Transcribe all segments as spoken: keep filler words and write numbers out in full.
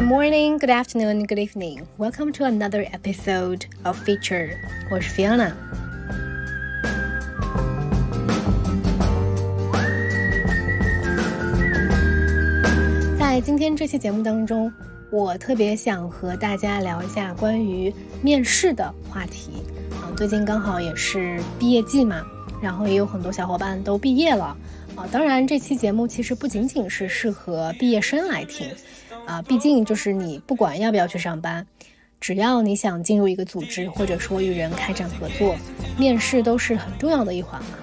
Good morning, good afternoon, good evening. Welcome to another episode of Feature. 我是 Fiona。在今天这期节目当中，我特别想和大家聊一下关于面试的话题。啊，最近刚好也是毕业季嘛，然后也有很多小伙伴都毕业了。啊，当然这期节目其实不仅仅是适合毕业生来听。啊，毕竟就是你不管要不要去上班，只要你想进入一个组织，或者说与人开展合作，面试都是很重要的一环嘛。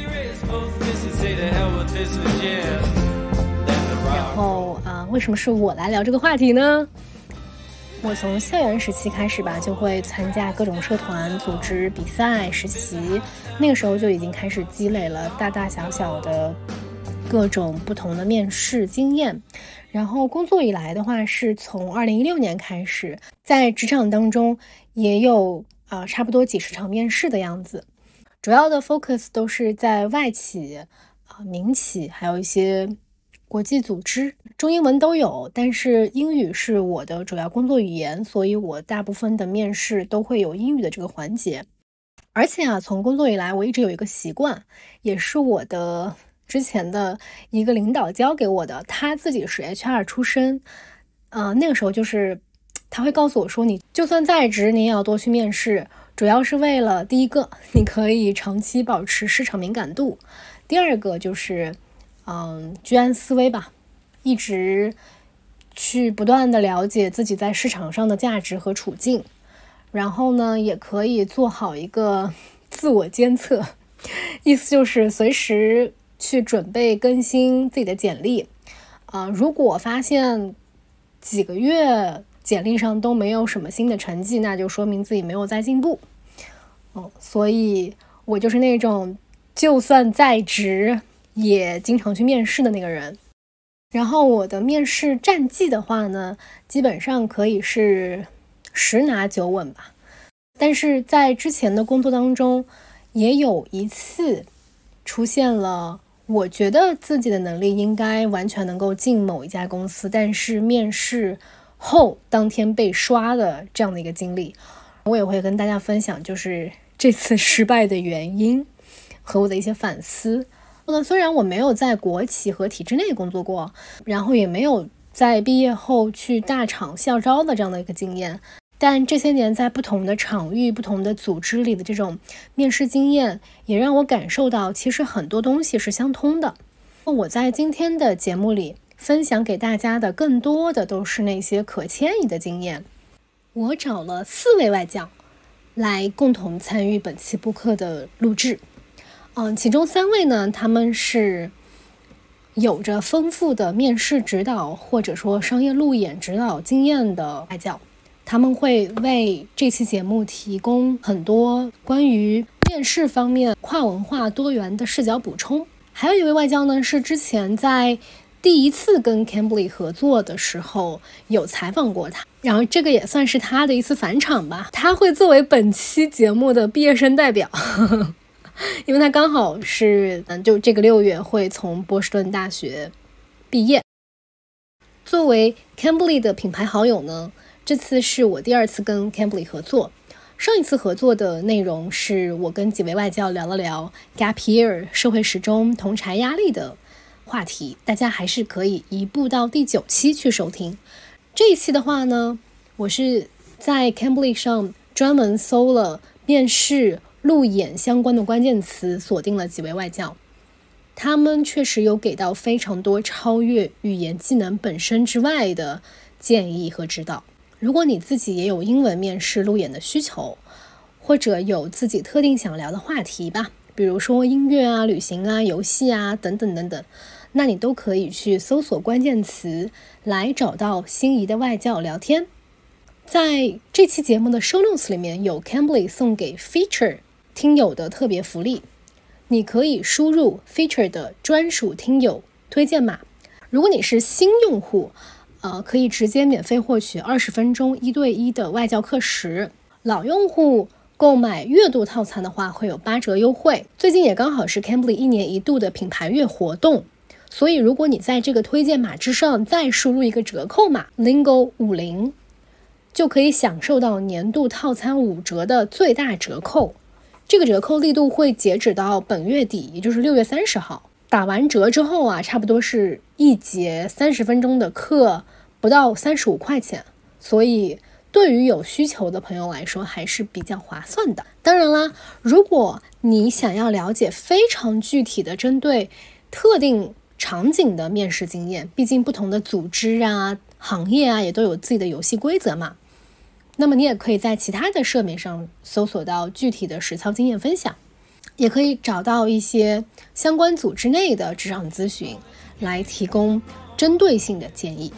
然后啊、呃，为什么是我来聊这个话题呢？我从校园时期开始吧，就会参加各种社团、组织、比赛、实习，那个时候就已经开始积累了大大小小的各种不同的面试经验。然后工作以来的话，是从二零一六年开始，在职场当中也有啊、呃、差不多几十场面试的样子，主要的 focus 都是在外企啊、呃、民企，还有一些国际组织，中英文都有，但是英语是我的主要工作语言，所以我大部分的面试都会有英语的这个环节。而且啊，从工作以来，我一直有一个习惯，也是我的之前的一个领导教给我的，他自己是 H R 出身，呃，那个时候就是他会告诉我说，你就算在职，你也要多去面试，主要是为了第一个，你可以长期保持市场敏感度；第二个就是，嗯，居安思危吧，一直去不断的了解自己在市场上的价值和处境，然后呢，也可以做好一个自我监测，意思就是随时去准备更新自己的简历，啊、呃，如果发现几个月简历上都没有什么新的成绩，那就说明自己没有在进步。哦，所以我就是那种就算在职也经常去面试的那个人。然后我的面试战绩的话呢，基本上可以是十拿九稳吧。但是在之前的工作当中，也有一次出现了我觉得自己的能力应该完全能够进某一家公司，但是面试后当天被刷的这样的一个经历。我也会跟大家分享就是这次失败的原因和我的一些反思。那虽然我没有在国企和体制内工作过，然后也没有在毕业后去大厂校招的这样的一个经验，但这些年在不同的场域、不同的组织里的这种面试经验，也让我感受到其实很多东西是相通的。我在今天的节目里分享给大家的更多的都是那些可迁移的经验。我找了四位外教来共同参与本期播客的录制。嗯，其中三位呢，他们是有着丰富的面试指导或者说商业路演指导经验的外教，他们会为这期节目提供很多关于面试方面跨文化多元的视角补充。还有一位外教呢，是之前在第一次跟 Cambly 合作的时候有采访过他，然后这个也算是他的一次返场吧，他会作为本期节目的毕业生代表因为他刚好是就这个六月会从波士顿大学毕业。作为 Cambly 的品牌好友呢，这次是我第二次跟 Cambly 合作。上一次合作的内容是我跟几位外教聊了聊 Gap Year 社会时钟同侪压力的话题，大家还是可以移步到第九期去收听。这一期的话呢，我是在 Cambly 上专门搜了面试路演相关的关键词，锁定了几位外教，他们确实有给到非常多超越语言技能本身之外的建议和指导。如果你自己也有英文面试路演的需求，或者有自己特定想聊的话题吧，比如说音乐啊、旅行啊、游戏啊等等等等，那你都可以去搜索关键词来找到心仪的外教聊天。在这期节目的 show notes 里面有 Cambly 送给 Feature 听友的特别福利，你可以输入 Feature 的专属听友推荐码。如果你是新用户，呃，可以直接免费获取二十分钟一对一的外教课时。老用户购买月度套餐的话会有八折优惠。最近也刚好是 Cambly 一年一度的品牌月活动， 所以如果你在这个推荐码之上再输入一个折扣码 lingo 五十，就可以享受到年度套餐五折的最大折扣。这个折扣力度会截止到本月底，也就是六月三十号。打完折之后啊，差不多是一节三十分钟的课，不到三十五块钱。所以对于有需求的朋友来说还是比较划算的。当然啦，如果你想要了解非常具体的针对特定场景的面试经验，毕竟不同的组织啊、行业啊也都有自己的游戏规则嘛，那么你也可以在其他的社媒上搜索到具体的实操经验分享，也可以找到一些相关组织内的职场咨询来提供针对性的建议。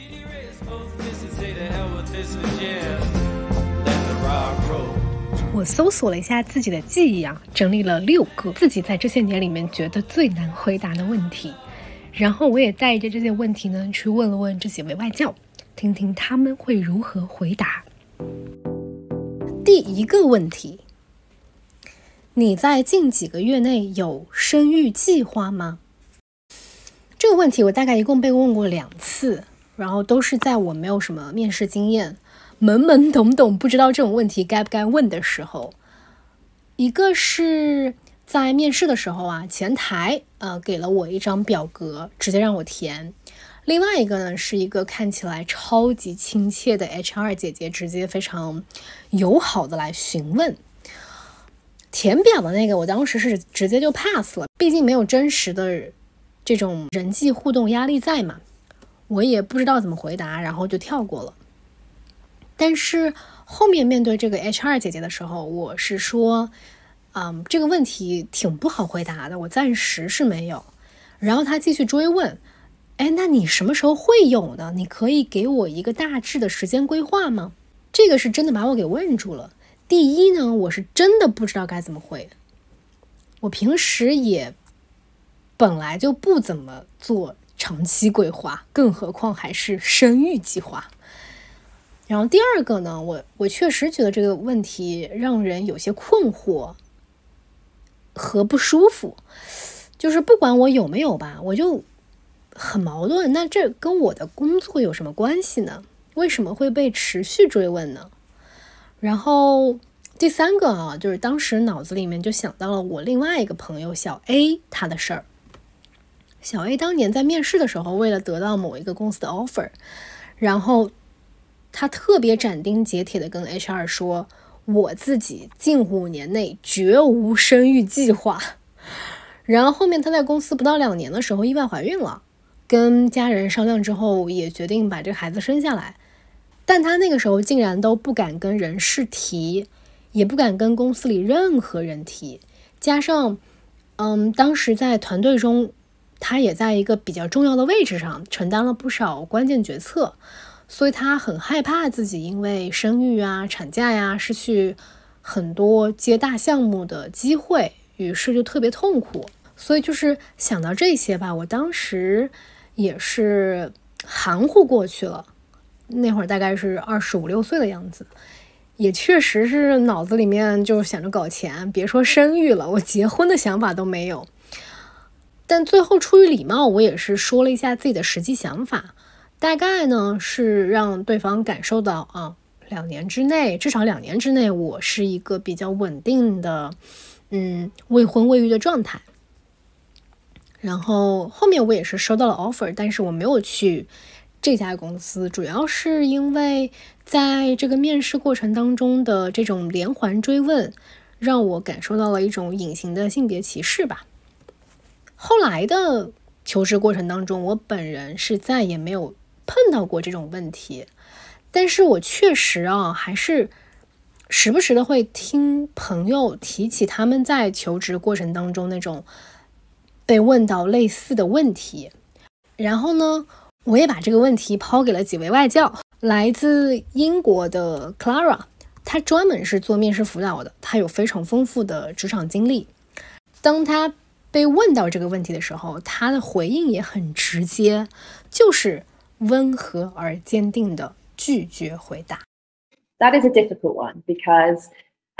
我搜索了一下自己的记忆啊，整理了六个自己在这些年里面觉得最难回答的问题，然后我也带着这些问题呢去问了问这几位外教，听听他们会如何回答。第一个问题，你在近几个月内有生育计划吗？这个问题我大概一共被问过两次，然后都是在我没有什么面试经验，懵懵懂懂不知道这种问题该不该问的时候。一个是在面试的时候啊，前台呃给了我一张表格，直接让我填。另外一个呢，是一个看起来超级亲切的 H R 姐姐，直接非常友好的来询问。填表的那个我当时是直接就 pass 了，毕竟没有真实的这种人际互动压力在嘛，我也不知道怎么回答，然后就跳过了。但是后面面对这个 H R 姐姐的时候，我是说嗯，这个问题挺不好回答的，我暂时是没有。然后她继续追问，哎，那你什么时候会有呢？你可以给我一个大致的时间规划吗？这个是真的把我给问住了。第一呢，我是真的不知道该怎么回。我平时也本来就不怎么做长期规划，更何况还是生育计划。然后第二个呢，我我确实觉得这个问题让人有些困惑和不舒服，就是不管我有没有吧，我就很矛盾。那这跟我的工作有什么关系呢？为什么会被持续追问呢？然后第三个啊，就是当时脑子里面就想到了我另外一个朋友小 A 他的事儿。小 A 当年在面试的时候，为了得到某一个公司的 offer， 然后他特别斩钉截铁的跟 H R 说，我自己近五年内绝无生育计划。然后后面他在公司不到两年的时候意外怀孕了，跟家人商量之后也决定把这个孩子生下来，但他那个时候竟然都不敢跟人事提，也不敢跟公司里任何人提，加上嗯，当时在团队中他也在一个比较重要的位置上承担了不少关键决策，所以他很害怕自己因为生育啊、产假呀失去很多接大项目的机会，于是就特别痛苦。所以就是想到这些吧，我当时也是含糊过去了。那会儿大概是二十五六岁的样子，也确实是脑子里面就想着搞钱，别说生育了，我结婚的想法都没有。但最后出于礼貌，我也是说了一下自己的实际想法，大概呢是让对方感受到啊，两年之内，至少两年之内，我是一个比较稳定的，嗯，未婚未育的状态。然后后面我也是收到了 offer， 但是我没有去这家公司，主要是因为在这个面试过程当中的这种连环追问，让我感受到了一种隐形的性别歧视吧。后来的求职过程当中，我本人是再也没有碰到过这种问题，但是我确实啊，还是时不时的会听朋友提起他们在求职过程当中那种被问到类似的问题。然后呢，我也把这个问题抛给了几位外教，来自英国的 Clara， 她专门是做面试辅导的，她有非常丰富的职场经历。当她被问到这个问题的时候，她的回应也很直接，就是温和而坚定的拒绝回答。 That is a difficult one because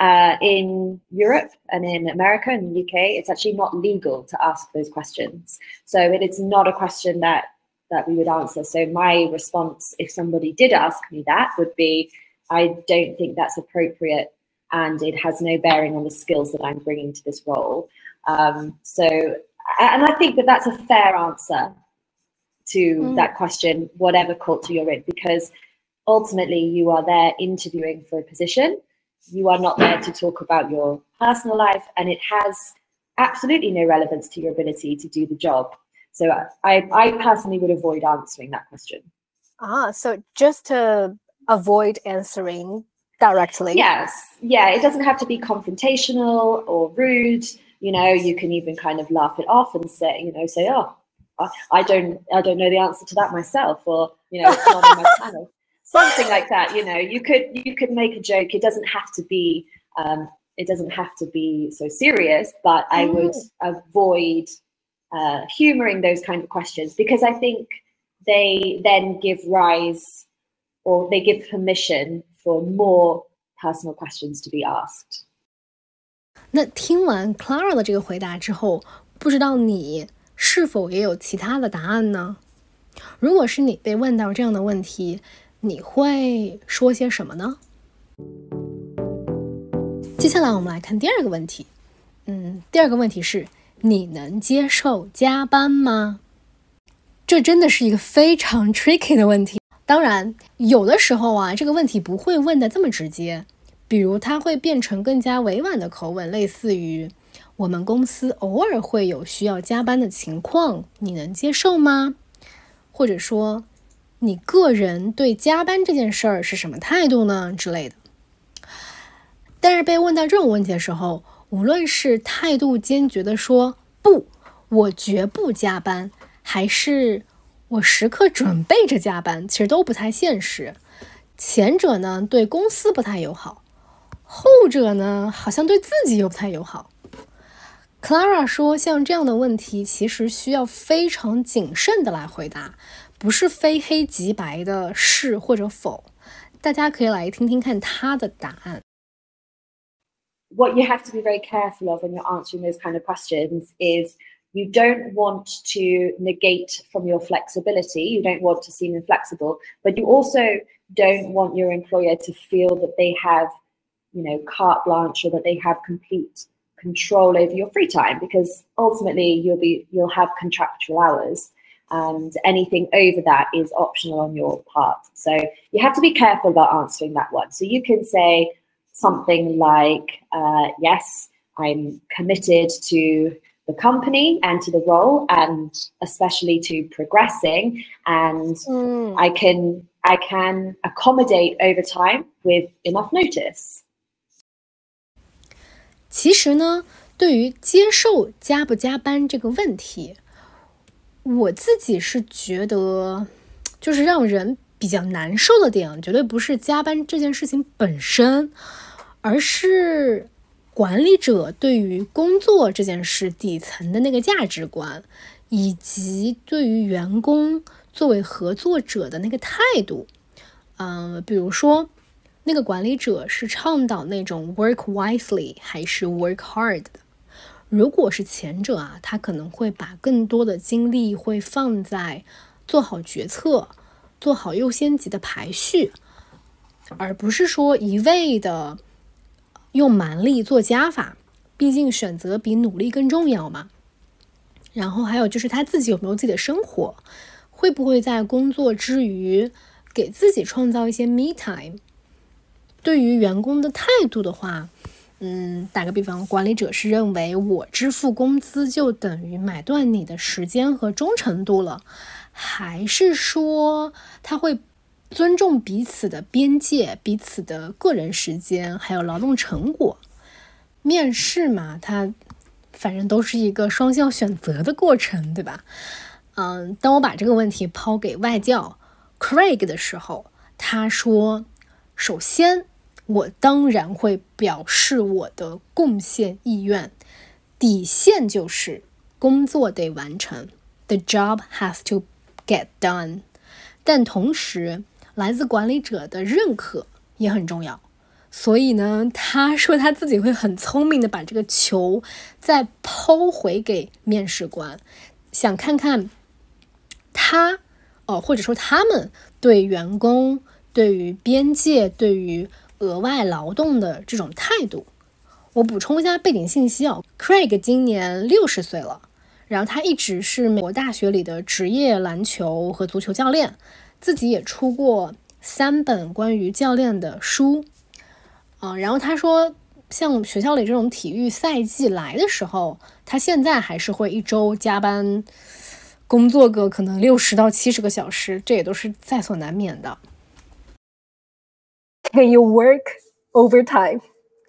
Uh, in Europe and in America and the U K, it's actually not legal to ask those questions. So it is not a question that, that we would answer. So my response, if somebody did ask me that, would be, I don't think that's appropriate and it has no bearing on the skills that I'm bringing to this role. Um, so, and I think that that's a fair answer to mm. that question, whatever culture you're in, because ultimately you are there interviewing for a position. You are not there to talk about your personal life, and it has absolutely no relevance to your ability to do the job. So I, I personally would avoid answering that question. Ah, so just to avoid answering directly. Yes. Yeah, it doesn't have to be confrontational or rude. You know, you can even kind of laugh it off and say, you know, say, oh, I don't, I don't know the answer to that myself, or, you know, it's not on my panel. Something like that, you know, you could you could make a joke. It doesn't have to be um, it doesn't have to be so serious, but I would avoid uh, humoring those kind of questions, because I think they then give rise, or they give permission for more personal questions to be asked. 那听完 Clara 的这个回答之后，不知道你是否也有其他的答案呢？如果是你被问到这样的问题，你会说些什么呢？接下来我们来看第二个问题。嗯，第二个问题是，你能接受加班吗？这真的是一个非常 tricky 的问题。当然，有的时候啊，这个问题不会问的这么直接，比如它会变成更加委婉的口吻，类似于我们公司偶尔会有需要加班的情况，你能接受吗？或者说你个人对加班这件事儿是什么态度呢之类的。但是被问到这种问题的时候，无论是态度坚决的说不，我绝不加班，还是我时刻准备着加班，其实都不太现实。前者呢对公司不太友好，后者呢好像对自己又不太友好。Clara 说，像这样的问题其实需要非常谨慎的来回答，不是非黑即白的是或者否。大家可以来听听看她的答案。 What you have to be very careful of when you're answering those kind of questions is you don't want to negate from your flexibility. You don't want to seem inflexible, but you also don't want your employer to feel that they have, you know, carte blanche, or that they have complete control over your free time, because ultimately you'll be you'll have contractual hours, and anything over that is optional on your part. So you have to be careful about answering that one. So you can say something like, uh, yes, I'm committed to the company and to the role, and especially to progressing, and mm. I can I can accommodate over time with enough notice. 其实呢，对于接受加不加班这个问题，我自己是觉得，就是让人比较难受的点，绝对不是加班这件事情本身，而是管理者对于工作这件事底层的那个价值观，以及对于员工作为合作者的那个态度。嗯、呃，比如说那个管理者是倡导那种 work wisely 还是 work hard 的。如果是前者啊，他可能会把更多的精力会放在做好决策，做好优先级的排序，而不是说一味的用蛮力做加法，毕竟选择比努力更重要嘛。然后还有就是他自己有没有自己的生活，会不会在工作之余给自己创造一些 me time。对于员工的态度的话，嗯，打个比方，管理者是认为我支付工资就等于买断你的时间和忠诚度了，还是说他会尊重彼此的边界、彼此的个人时间还有劳动成果？面试嘛，它反正都是一个双向选择的过程，对吧？嗯，当我把这个问题抛给外教 Craig 的时候，他说，首先我当然会表示我的贡献意愿，底线就是工作得完成 The job has to get done。 但同时来自管理者的认可也很重要， 所以呢，他说他自己会很聪明的把这个球再抛回给面试官，想看看他哦，或者说他们对员工、对于边界、对于额外劳动的这种态度。我补充一下背景信息啊 ，Craig 今年六十岁了，然后他一直是美国大学里的职业篮球和足球教练，自己也出过三本关于教练的书。啊，然后他说，像学校里这种体育赛季来的时候，他现在还是会一周加班工作个可能六十到七十个小时，这也都是在所难免的。Can you work overtime?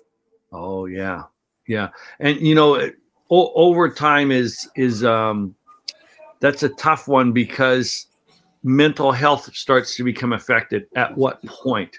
Oh yeah, yeah, and you know, o- overtime is is um, that's a tough one because mental health starts to become affected at what point?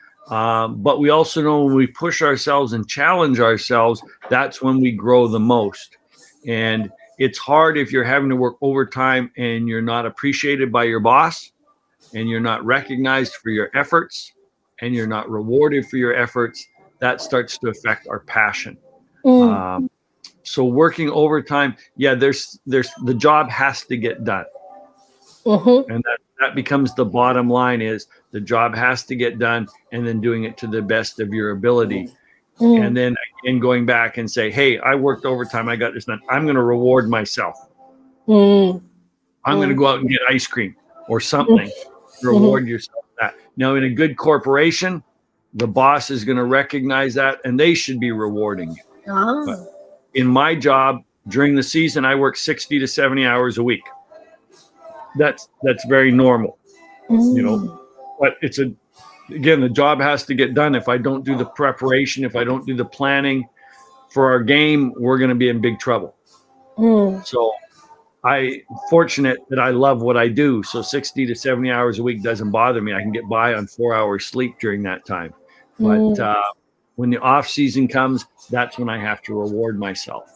Um, but we also know when we push ourselves and challenge ourselves, that's when we grow the most. And it's hard if you're having to work overtime and you're not appreciated by your boss and you're not recognized for your efforts and you're not rewarded for your efforts. That starts to affect our passion. Mm. Um, so working overtime, yeah, there's there's the job has to get done. Mm-hmm. And that, that becomes the bottom line is the job has to get done and then doing it to the best of your ability. Mm. And then again, going back and say, hey, I worked overtime. I got this done. I'm going to reward myself. Mm. I'm mm. going to go out and get ice cream or something. Mm. Reward mm-hmm. yourself for that. Now, in a good corporation, the boss is going to recognize that and they should be rewarding you. Oh. But in my job during the season, I work sixty to seventy hours a week. That's that's very normal, mm. you know, but it's a, again, the job has to get done. If I don't do the preparation, if I don't do the planning for our game, we're going to be in big trouble. Mm. So I fortunate that I love what I do. So sixty to seventy hours a week doesn't bother me. I can get by on four hours sleep during that time. But mm. uh, when the off season comes, that's when I have to reward myself.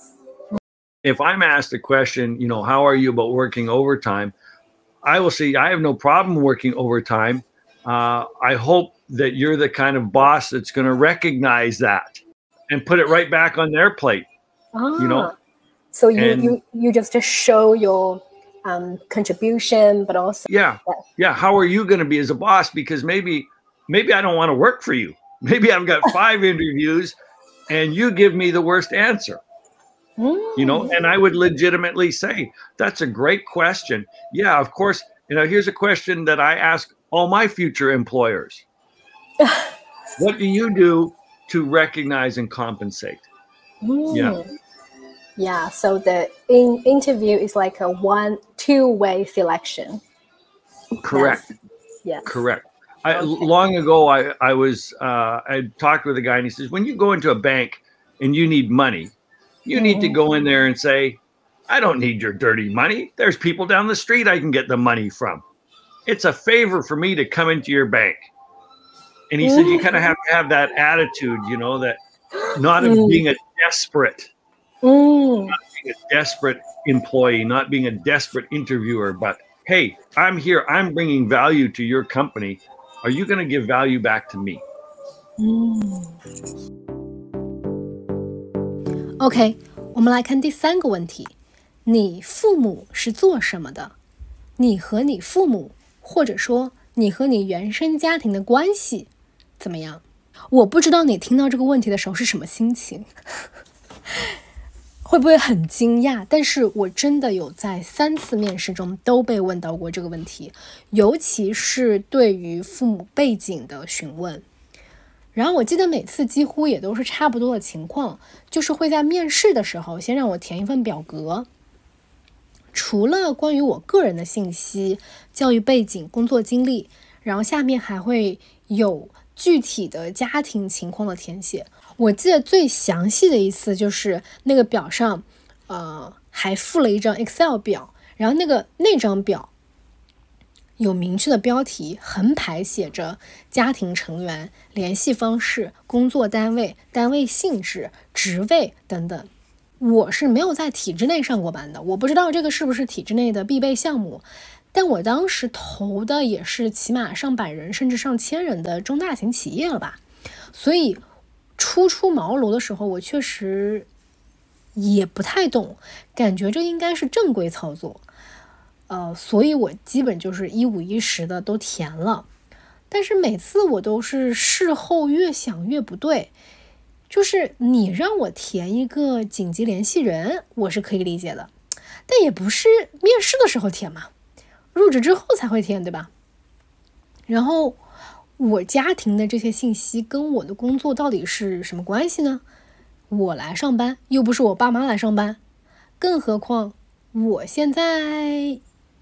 If I'm asked a question, you know, how are you about working overtime? I will say I have no problem working overtime. Uh, I hope that you're the kind of boss that's going to recognize that and put it right back on their plate. Ah, you know, so you and, you you just show your um, contribution, but also yeah, yeah, yeah. How are you going to be as a boss? Because maybe maybe I don't want to work for you. Maybe I've got five interviews, and you give me the worst answer. Mm. You know, and I would legitimately say, that's a great question. Yeah, of course. You know, here's a question that I ask all my future employers. What do you do to recognize and compensate? Mm. Yeah. Yeah. So the in interview is like a one, two way selection. Correct. Yes. Correct. I, okay. Long ago, I, I was, uh, I talked with a guy and he says, when you go into a bank and you need money, you need to go in there and say, I don't need your dirty money. There's people down the street I can get the money from. It's a favor for me to come into your bank. And he said, you kind of have to have that attitude, you know, that not of being a desperate, not being a desperate employee, not being a desperate interviewer, but hey, I'm here. I'm bringing value to your company. Are you going to give value back to me? OK， 我们来看第三个问题，你父母是做什么的？你和你父母，或者说你和你原生家庭的关系怎么样？我不知道你听到这个问题的时候是什么心情，会不会很惊讶？但是我真的有在三次面试中都被问到过这个问题，尤其是对于父母背景的询问。然后我记得每次几乎也都是差不多的情况，就是会在面试的时候先让我填一份表格，除了关于我个人的信息、教育背景、工作经历，然后下面还会有具体的家庭情况的填写。我记得最详细的一次就是那个表上呃，还附了一张 Excel 表，然后那个那张表有明确的标题，横排写着家庭成员、联系方式、工作单位、单位性质、职位等等。我是没有在体制内上过班的，我不知道这个是不是体制内的必备项目，但我当时投的也是起码上百人甚至上千人的中大型企业了吧， 所以初出茅庐的时候，我确实也不太懂，感觉这应该是正规操作，呃，所以我基本就是一五一十的都填了。但是每次我都是事后越想越不对，就是你让我填一个紧急联系人，我是可以理解的，但也不是面试的时候填嘛，入职之后才会填，对吧？然后我家庭的这些信息跟我的工作到底是什么关系呢？我来上班又不是我爸妈来上班，更何况我现在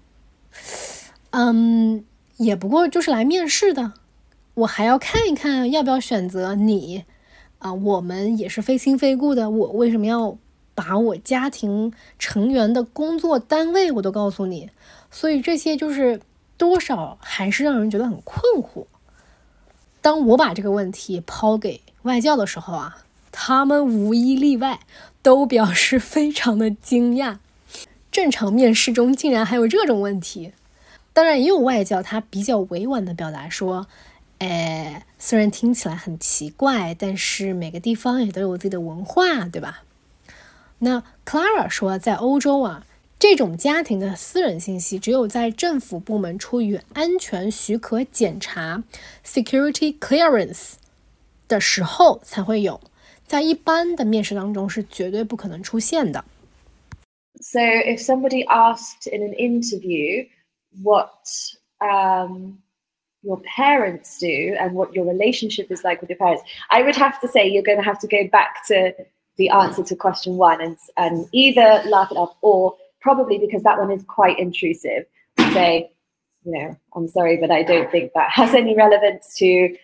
嗯也不过就是来面试的，我还要看一看要不要选择你啊，我们也是非亲非故的，我为什么要把我家庭成员的工作单位我都告诉你？所以这些就是多少还是让人觉得很困惑。当我把这个问题抛给外教的时候啊，他们无一例外都表示非常的惊讶，正常面试中竟然还有这种问题。当然也有外教他比较委婉的表达说，哎，虽然听起来很奇怪，但是每个地方也都有自己的文化，对吧？那 Clara 说，在欧洲啊，这种家庭的私人信息只有在政府部门出于安全许可检查 security clearance 的时候才会有，在一般的面试当中是绝对不可能出现的。 So if somebody asked in an interview what um, your parents do and what your relationship is like with your parents, I would have to say you're going to have to go back to the answer to question one and, and either laugh it off or probably, because that one is quite intrusive, say, you know, I'm sorry, but I don't think that has any relevance to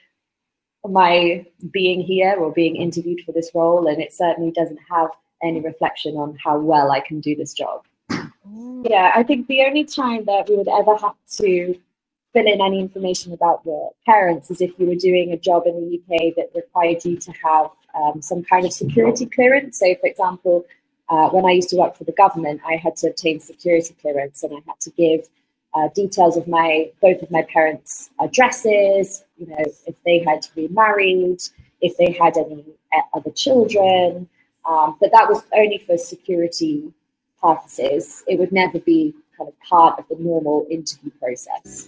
my being here or being interviewed for this role, and it certainly doesn't have any reflection on how well I can do this job. Yeah, I think the only time that we would ever have to fill in any information about your parents is if you were doing a job in the U K that required you to have um, some kind of security clearance. So, for example, uh, when I used to work for the government, I had to obtain security clearance, and I had to give uh, details of my both of my parents' addresses, you know, if they had remarried, if they had any other children. Um, but that was only for security purposes. It would never be kind of part of the normal interview process.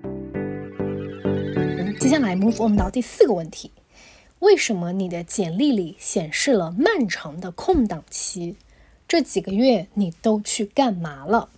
接下来 move on 到第四个问题，为什么你的简历里显示了漫长的空档期？这几个月你都去干嘛了？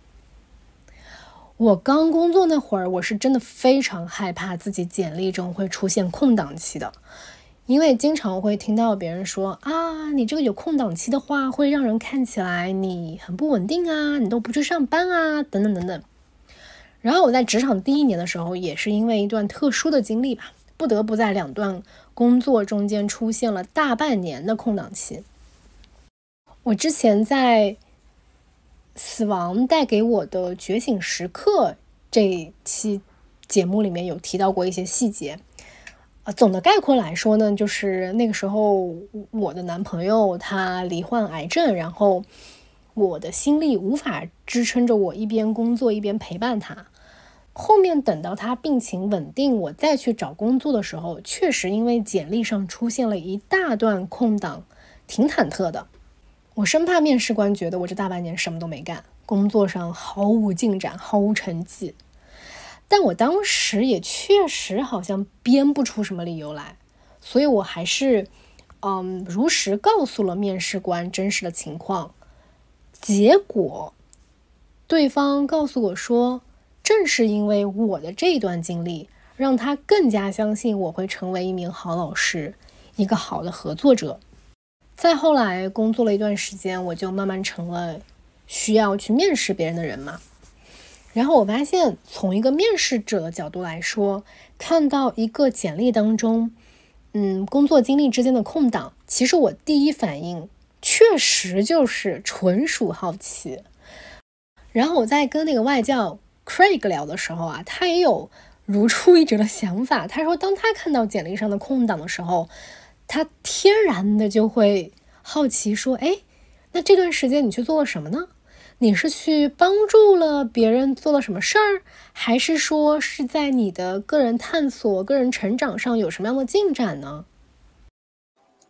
我刚工作那会儿，我是真的非常害怕自己简历中会出现空档期的，因为经常会听到别人说啊，你这个有空档期的话，会让人看起来你很不稳定啊，你都不去上班啊，等等等等。然后我在职场第一年的时候，也是因为一段特殊的经历吧，不得不在两段工作中间出现了大半年的空档期。我之前在死亡带给我的觉醒时刻这一期节目里面有提到过一些细节。呃，总的概括来说呢，就是那个时候我的男朋友他罹患癌症，然后我的心力无法支撑着我一边工作一边陪伴他。后面等到他病情稳定，我再去找工作的时候，确实因为简历上出现了一大段空档，挺忐忑的。我生怕面试官觉得我这大半年什么都没干，工作上毫无进展，毫无成绩。但我当时也确实好像编不出什么理由来，所以我还是嗯，如实告诉了面试官真实的情况。结果对方告诉我说，正是因为我的这段经历，让他更加相信我会成为一名好老师，一个好的合作者。再后来工作了一段时间，我就慢慢成了需要去面试别人的人嘛。然后我发现，从一个面试者的角度来说，看到一个简历当中嗯，工作经历之间的空档，其实我第一反应确实就是纯属好奇。然后我在跟那个外教 Craig 聊的时候啊，他也有如出一辙的想法。他说当他看到简历上的空档的时候，他天然的就会好奇说，哎，那这段时间你去做了什么呢？你是去帮助了别人做了什么事儿，还是说是在你的个人探索、个人成长上有什么样的进展呢？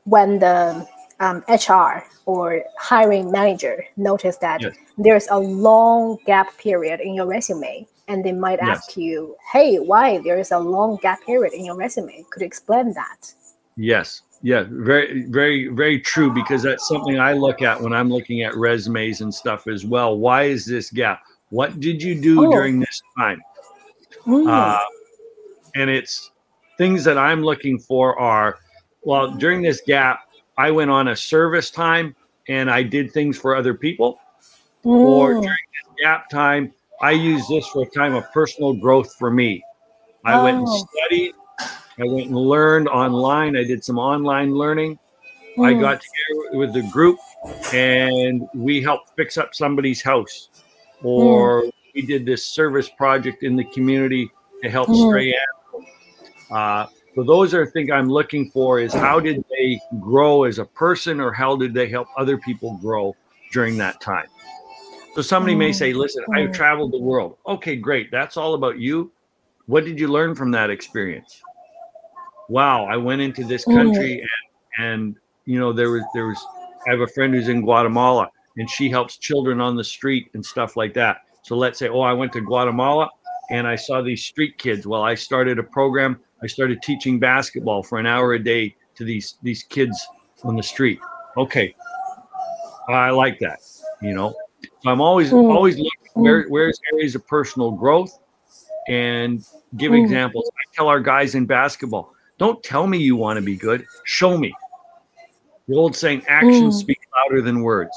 when the um, H R or hiring manager notice that yes. there's a long gap period in your resume, and they might Yes. ask you, hey, why there is a long gap period in your resume? Could you explain that? Yes. Yeah. Very, very, very true, because that's something I look at when I'm looking at resumes and stuff as well. Why is this gap? What did you do Oh. during this time? Mm. Uh, and it's things that I'm looking for are, well, during this gap, I went on a service time and I did things for other people. Mm. Or during this gap time, I used this for a time of personal growth for me. I oh. went and studied. I went and learned online. I did some online learning. Mm. I got together with the group and we helped fix up somebody's house. Or mm. we did this service project in the community to help mm. stray animals. Uh, so those are things I'm looking for, is how did they grow as a person, or how did they help other people grow during that time? So somebody mm. may say, listen, mm. I've traveled the world. Okay, great. That's all about you. What did you learn from that experience? Wow, I went into this country and, and you know, there was, there was, I have a friend who's in Guatemala and she helps children on the street and stuff like that. So let's say, oh, I went to Guatemala and I saw these street kids. Well, I started a program. I started teaching basketball for an hour a day to these, these kids on the street. Okay. I like that, you know. So I'm always, mm. always looking where, where's areas of personal growth and give mm. examples. I tell our guys in basketball, don't tell me you want to be good. Show me. The old saying, actions speak louder than words.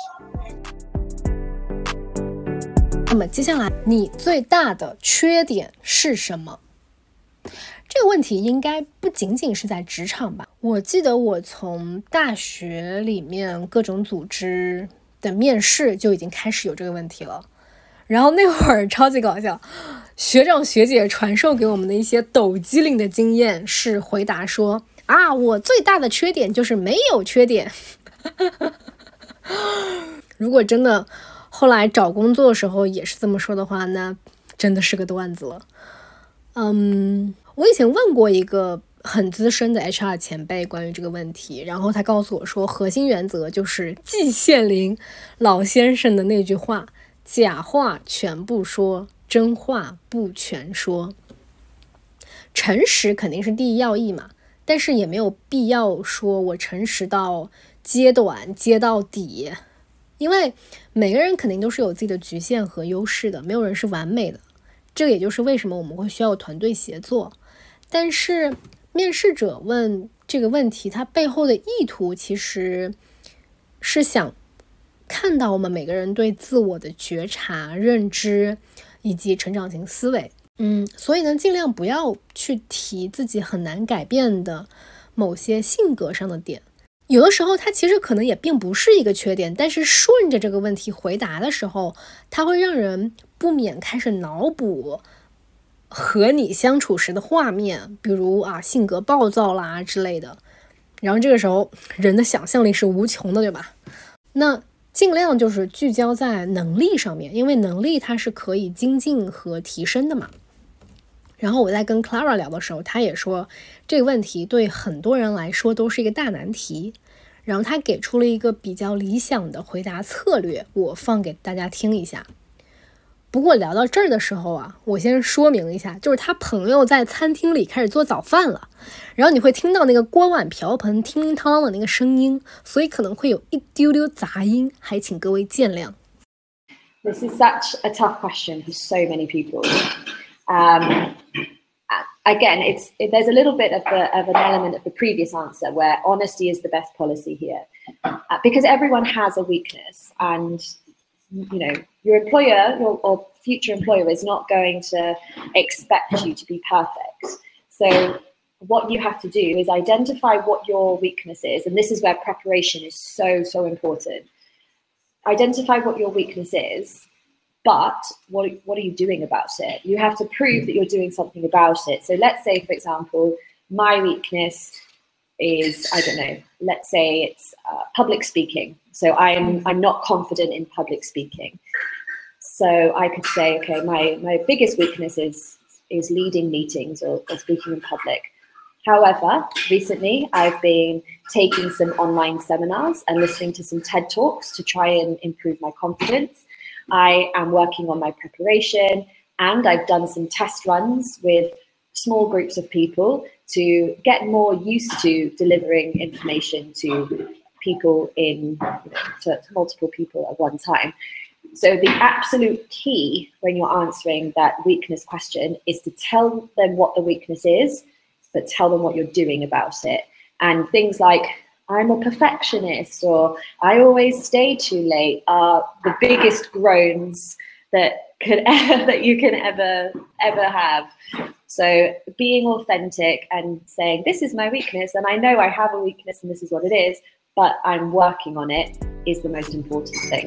那么接下来，你最大的缺点是什么？这个问题应该不仅仅是在职场吧。我记得我从大学里面各种组织的面试就已经开始有这个问题了。然后那会儿超级搞笑，学长学姐传授给我们的一些抖机灵的经验是回答说啊，我最大的缺点就是没有缺点。如果真的后来找工作的时候也是这么说的话，那真的是个段子了。嗯，我以前问过一个很资深的 H R 前辈关于这个问题，然后他告诉我说，核心原则就是季羡林老先生的那句话，假话全部说，真话不全说。诚实肯定是第一要义嘛，但是也没有必要说我诚实到揭短揭到底，因为每个人肯定都是有自己的局限和优势的，没有人是完美的。这个也就是为什么我们会需要团队协作。但是面试者问这个问题，他背后的意图其实是想看到我们每个人对自我的觉察、认知以及成长型思维。嗯，所以呢，尽量不要去提自己很难改变的某些性格上的点。有的时候它其实可能也并不是一个缺点，但是顺着这个问题回答的时候，它会让人不免开始脑补和你相处时的画面，比如啊性格暴躁啦之类的。然后这个时候人的想象力是无穷的，对吧？那尽量就是聚焦在能力上面，因为能力它是可以精进和提升的嘛。然后我在跟 Clara 聊的时候，她也说这个问题对很多人来说都是一个大难题，然后她给出了一个比较理想的回答策略，我放给大家听一下。不过聊到这儿的时候啊，我先说明一下，就是他朋友在餐厅里开始做早饭了，然后你会听到那个锅碗瓢盆叮叮当当的那个声音，所以可能会有一丢丢杂音，还请各位见谅。 This is such a tough question for so many people. Um, again, it's it, there's a little bit of the of an element of the previous answer where honesty is the best policy here, uh, because everyone has a weakness, and you know your employer your, or future employer is not going to expect you to be perfect. So what you have to do is identify what your weakness is, and this is where preparation is so so important. Identify what your weakness is. But what, what are you doing about it? You have to prove that you're doing something about it. So let's say, for example, my weakness is, I don't know, let's say it's uh, public speaking. So I'm, I'm not confident in public speaking. So I could say, okay, my, my biggest weakness is, is leading meetings or, or speaking in public. However, recently I've been taking some online seminars and listening to some TED Talks to try and improve my confidence. I am working on my preparation, and I've done some test runs with small groups of people to get more used to delivering information to people in, to, to multiple people at one time. So the absolute key when you're answering that weakness question is to tell them what the weakness is, but tell them what you're doing about it. And things like, I'm a perfectionist, or I always stay too late, are the biggest groans that could ever, that you can ever, ever have. So being authentic and saying, this is my weakness, and I know I have a weakness and this is what it is, but I'm working on it, is the most important thing.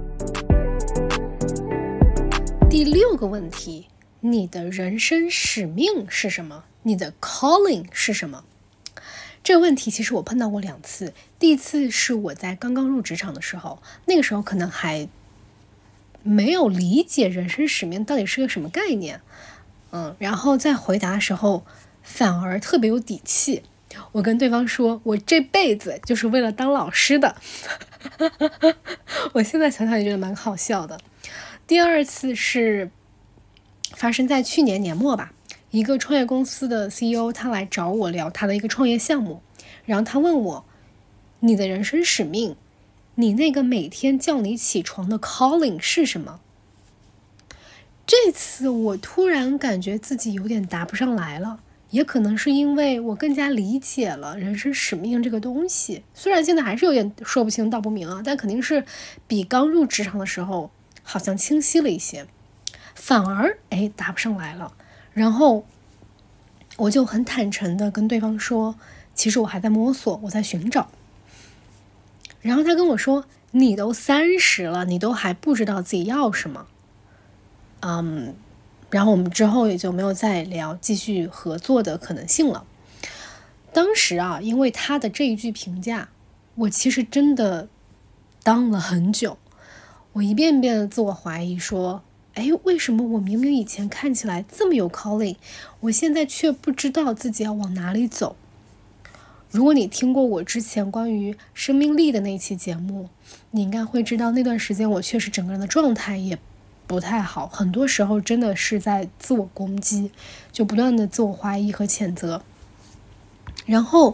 第六个问题，你的人生使命是什么？你的 calling 是什么？这个问题其实我碰到过两次。第一次是我在刚刚入职场的时候，那个时候可能还没有理解人生使命到底是个什么概念，嗯，然后在回答的时候反而特别有底气。我跟对方说，我这辈子就是为了当老师的。我现在想想也觉得蛮好笑的。第二次是发生在去年年末吧，一个创业公司的 C E O 他来找我聊他的一个创业项目，然后他问我，你的人生使命，你那个每天叫你起床的 calling 是什么？这次我突然感觉自己有点答不上来了，也可能是因为我更加理解了人生使命这个东西，虽然现在还是有点说不清道不明啊，但肯定是比刚入职场的时候好像清晰了一些，反而哎答不上来了。然后我就很坦诚的跟对方说，其实我还在摸索，我在寻找。然后他跟我说，你都三十了，你都还不知道自己要什么。嗯，然后我们之后也就没有再聊继续合作的可能性了。当时啊，因为他的这一句评价，我其实真的当了很久。我一遍遍的自我怀疑说，哎，为什么我明明以前看起来这么有 calling， 我现在却不知道自己要往哪里走？如果你听过我之前关于生命力的那期节目，你应该会知道那段时间我确实整个人的状态也不太好，很多时候真的是在自我攻击，就不断的自我怀疑和谴责。然后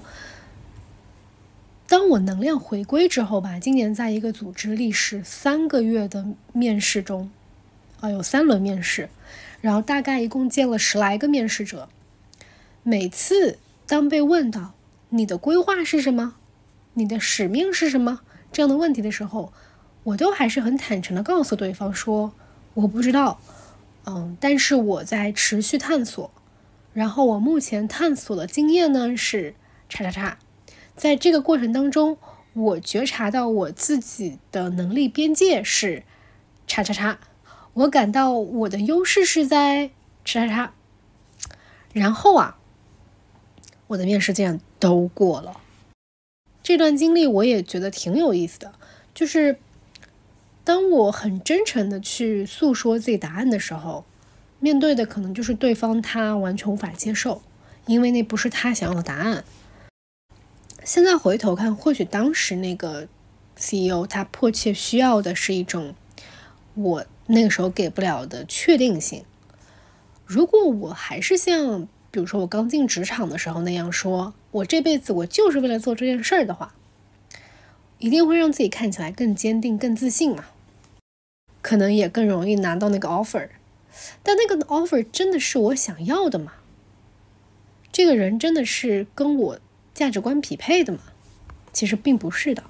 当我能量回归之后吧，今年在一个组织历时三个月的面试中，啊，有三轮面试，然后大概一共见了十来个面试者。每次当被问到你的规划是什么，你的使命是什么这样的问题的时候，我都还是很坦诚的告诉对方说，我不知道，嗯，但是我在持续探索，然后我目前探索的经验呢是叉叉叉。在这个过程当中，我觉察到我自己的能力边界是叉叉叉，我感到我的优势是在叉叉叉。然后啊，我的面试竟然都过了。这段经历我也觉得挺有意思的，就是当我很真诚的去诉说自己答案的时候，面对的可能就是对方他完全无法接受，因为那不是他想要的答案。现在回头看，或许当时那个 C E O 他迫切需要的是一种我那个时候给不了的确定性。如果我还是像比如说我刚进职场的时候那样说，我这辈子我就是为了做这件事儿的话，一定会让自己看起来更坚定更自信嘛，可能也更容易拿到那个 offer。 但那个 offer 真的是我想要的吗？这个人真的是跟我价值观匹配的吗？其实并不是的。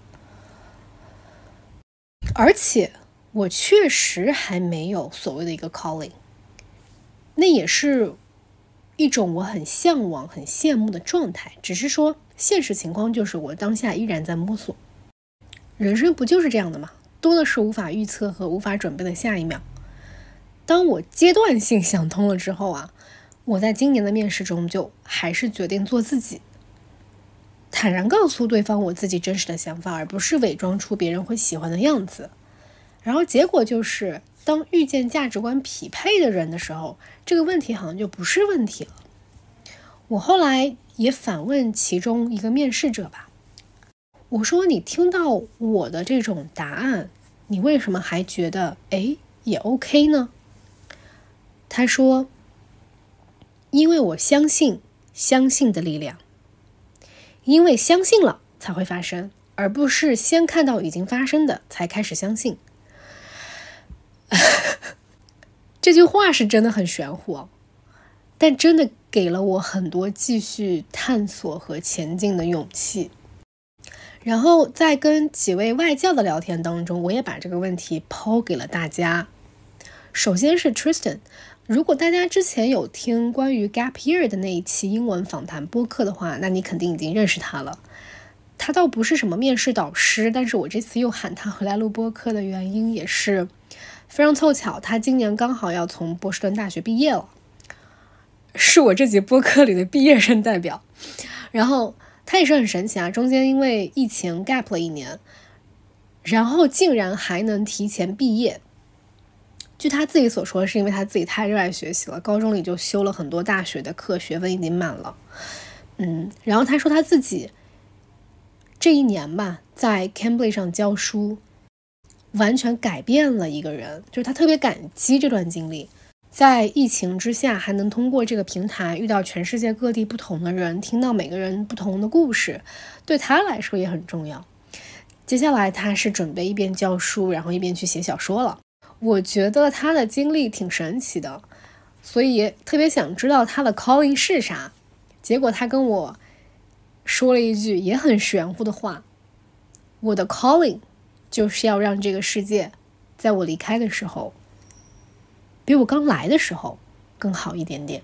而且我确实还没有所谓的一个 calling， 那也是一种我很向往很羡慕的状态，只是说现实情况就是我当下依然在摸索。人生不就是这样的吗？多的是无法预测和无法准备的下一秒。当我阶段性想通了之后啊，我在今年的面试中就还是决定做自己，坦然告诉对方我自己真实的想法，而不是伪装出别人会喜欢的样子。然后结果就是当遇见价值观匹配的人的时候，这个问题好像就不是问题了。 我后来也反问其中一个面试者吧，我说你听到我的这种答案，你为什么还觉得诶也 OK 呢？他说，因为我相信相信的力量，因为相信了才会发生，而不是先看到已经发生的才开始相信。这句话是真的很玄乎哦，但真的给了我很多继续探索和前进的勇气。然后在跟几位外教的聊天当中，我也把这个问题抛给了大家。首先是 Tristan， 如果大家之前有听关于 Gap Year 的那一期英文访谈播客的话，那你肯定已经认识他了。他倒不是什么面试导师，但是我这次又喊他回来录播客的原因也是非常凑巧，他今年刚好要从波士顿大学毕业了，是我这节播客里的毕业生代表。然后他也是很神奇啊，中间因为疫情 gap 了一年，然后竟然还能提前毕业。据他自己所说，是因为他自己太热爱学习了，高中里就修了很多大学的课，学分已经满了。嗯，然后他说他自己这一年吧，在 Cambly 上教书，完全改变了一个人，就是他特别感激这段经历。在疫情之下，还能通过这个平台遇到全世界各地不同的人，听到每个人不同的故事，对他来说也很重要。接下来他是准备一边教书，然后一边去写小说了。我觉得他的经历挺神奇的，所以也特别想知道他的 calling 是啥。结果他跟我说了一句也很玄乎的话，我的 calling 就是要让这个世界在我离开的时候比我刚来的时候更好一点点。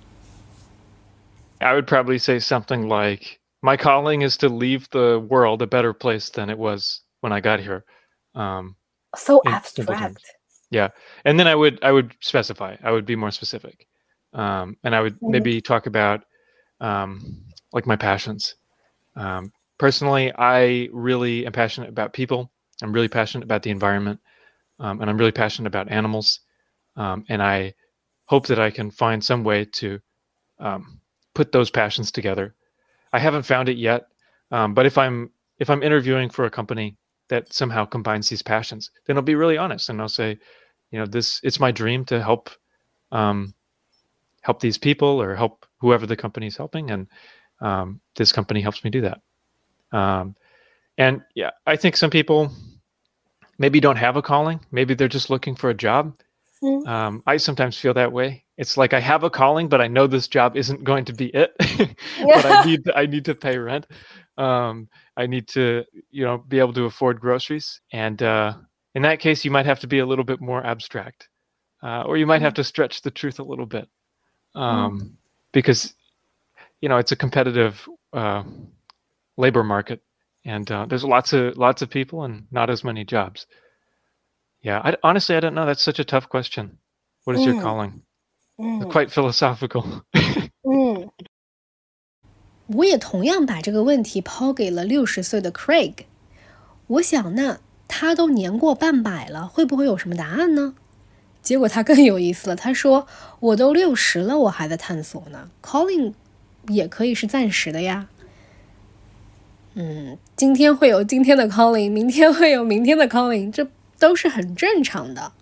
I would probably say something like, my calling is to leave the world a better place than it was when I got here. Um, so abstract. Yeah. And then I would I would specify. I would be more specific. Um, and I would mm-hmm. maybe talk about um, like my passions. Um, personally, I really am passionate about people. I'm really passionate about the environment. Um, and I'm really passionate about animals. Um, and I hope that I can find some way to um, put those passions together. I haven't found it yet, um, but if I'm if I'm interviewing for a company that somehow combines these passions, then I'll be really honest and I'll say, you know, this it's my dream to help um, help these people or help whoever the company is helping, and um, this company helps me do that. Um, and yeah, I think some people maybe don't have a calling. Maybe they're just looking for a job. Mm. Um, I sometimes feel that way. It's like I have a calling, but I know this job isn't going to be it. But I need to, I need to pay rent. Um, I need to, you know, be able to afford groceries. And uh, in that case, you might have to be a little bit more abstract, uh, or you might have to stretch the truth a little bit, um, mm. because, you know, it's a competitive uh, labor market, and uh, there's lots of lots of people and not as many jobs. Yeah, I, honestly, I don't know. That's such a tough question. What is mm. your calling? Mm. It's quite philosophical. 嗯，我也同样把这个问题抛给了六十岁的 Craig。我想，那他都年过半百了，会不会有什么答案呢？结果他更有意思了，他说：“我都六十了，我还在探索呢。Calling 也可以是暂时的呀。”嗯，今天会有今天的 calling， 明天会有明天的 calling， 这都是很正常的。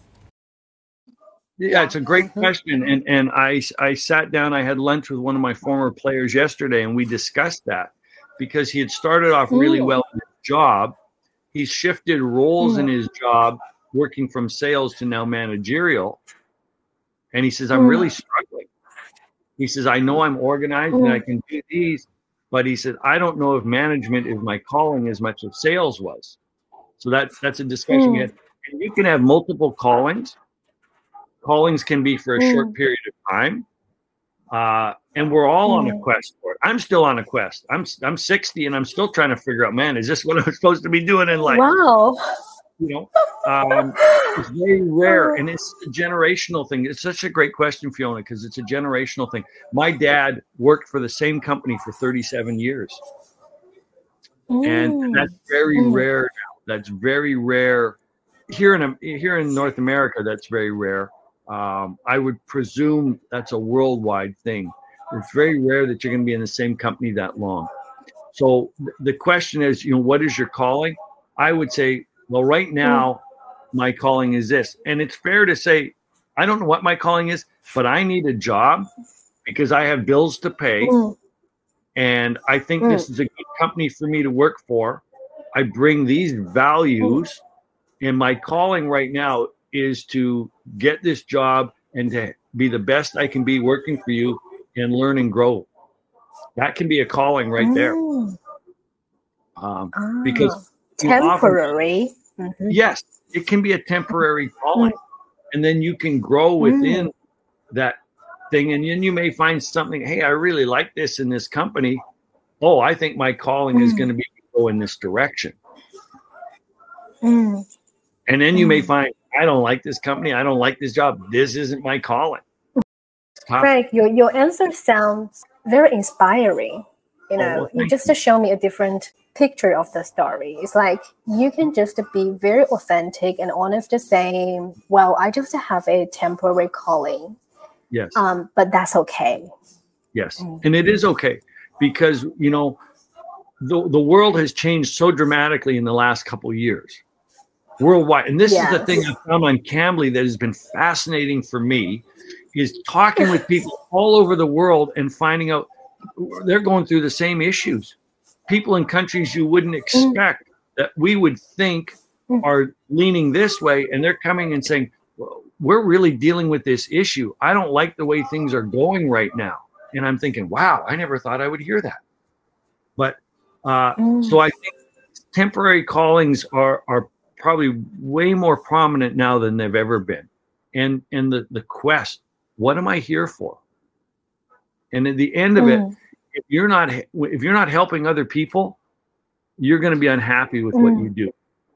Yeah, it's a great question. And and I, I sat down, I had lunch with one of my former players yesterday, and we discussed that because he had started off really mm. well in his job. He's shifted roles mm. in his job, working from sales to now managerial. And he says, I'm mm. really struggling. He says, I know I'm organized mm. and I can do these, but he said, I don't know if management is my calling as much as sales was. So that's, that's a discussion. Mm. And you can have multiple callings. Callings can be for a mm. short period of time. Uh, and we're all mm. on a quest for it. I'm still on a quest. I'm I'm sixty and I'm still trying to figure out, man, is this what I'm supposed to be doing in life? Wow. You know, um, it's very rare. And it's a generational thing. It's such a great question, Fiona, because it's a generational thing. My dad worked for the same company for thirty-seven years. Mm. And that's very mm. rare now. That's very rare. Here in here in North America, that's very rare. Um, I would presume that's a worldwide thing. It's very rare that you're going to be in the same company that long. So the question is, you know, what is your calling? I would say, well, right now, my calling is this. And it's fair to say, I don't know what my calling is, but I need a job because I have bills to pay. Mm. And I think mm. this is a good company for me to work for. I bring these values, mm. and my calling right now is to get this job and to be the best I can be working for you and learn and grow. That can be a calling right mm. there. Um, ah, because temporary. Often, mm-hmm. Yes, it can be a temporary calling. Mm. And then you can grow within mm. that thing. And then you may find something, hey, I really like this in this company. Oh, I think my calling mm. is going to be to go in this direction. Mm. And then you mm. may find, I don't like this company. I don't like this job. This isn't my calling. Frank, your, your answer sounds very inspiring. You know, oh, well, you just you. show me a different picture of the story. It's like you can just be very authentic and honest to say, well, I just have a temporary calling. Yes. Um, but that's okay. Yes. Mm-hmm. And it is okay because, you know, the, the world has changed so dramatically in the last couple of years worldwide. And this yes. is the thing I found on Cambly that has been fascinating for me is talking with people all over the world and finding out they're going through the same issues. People in countries you wouldn't expect mm. that we would think mm. are leaning this way, and they're coming and saying, well, we're really dealing with this issue. I don't like the way things are going right now. And I'm thinking, wow, I never thought I would hear that. But uh, mm. so I think temporary callings are are probably way more prominent now than they've ever been. And and the, the quest, what am I here for? And at the end of mm. it, if you're not if you're not helping other people, you're going to be unhappy with mm. what you do.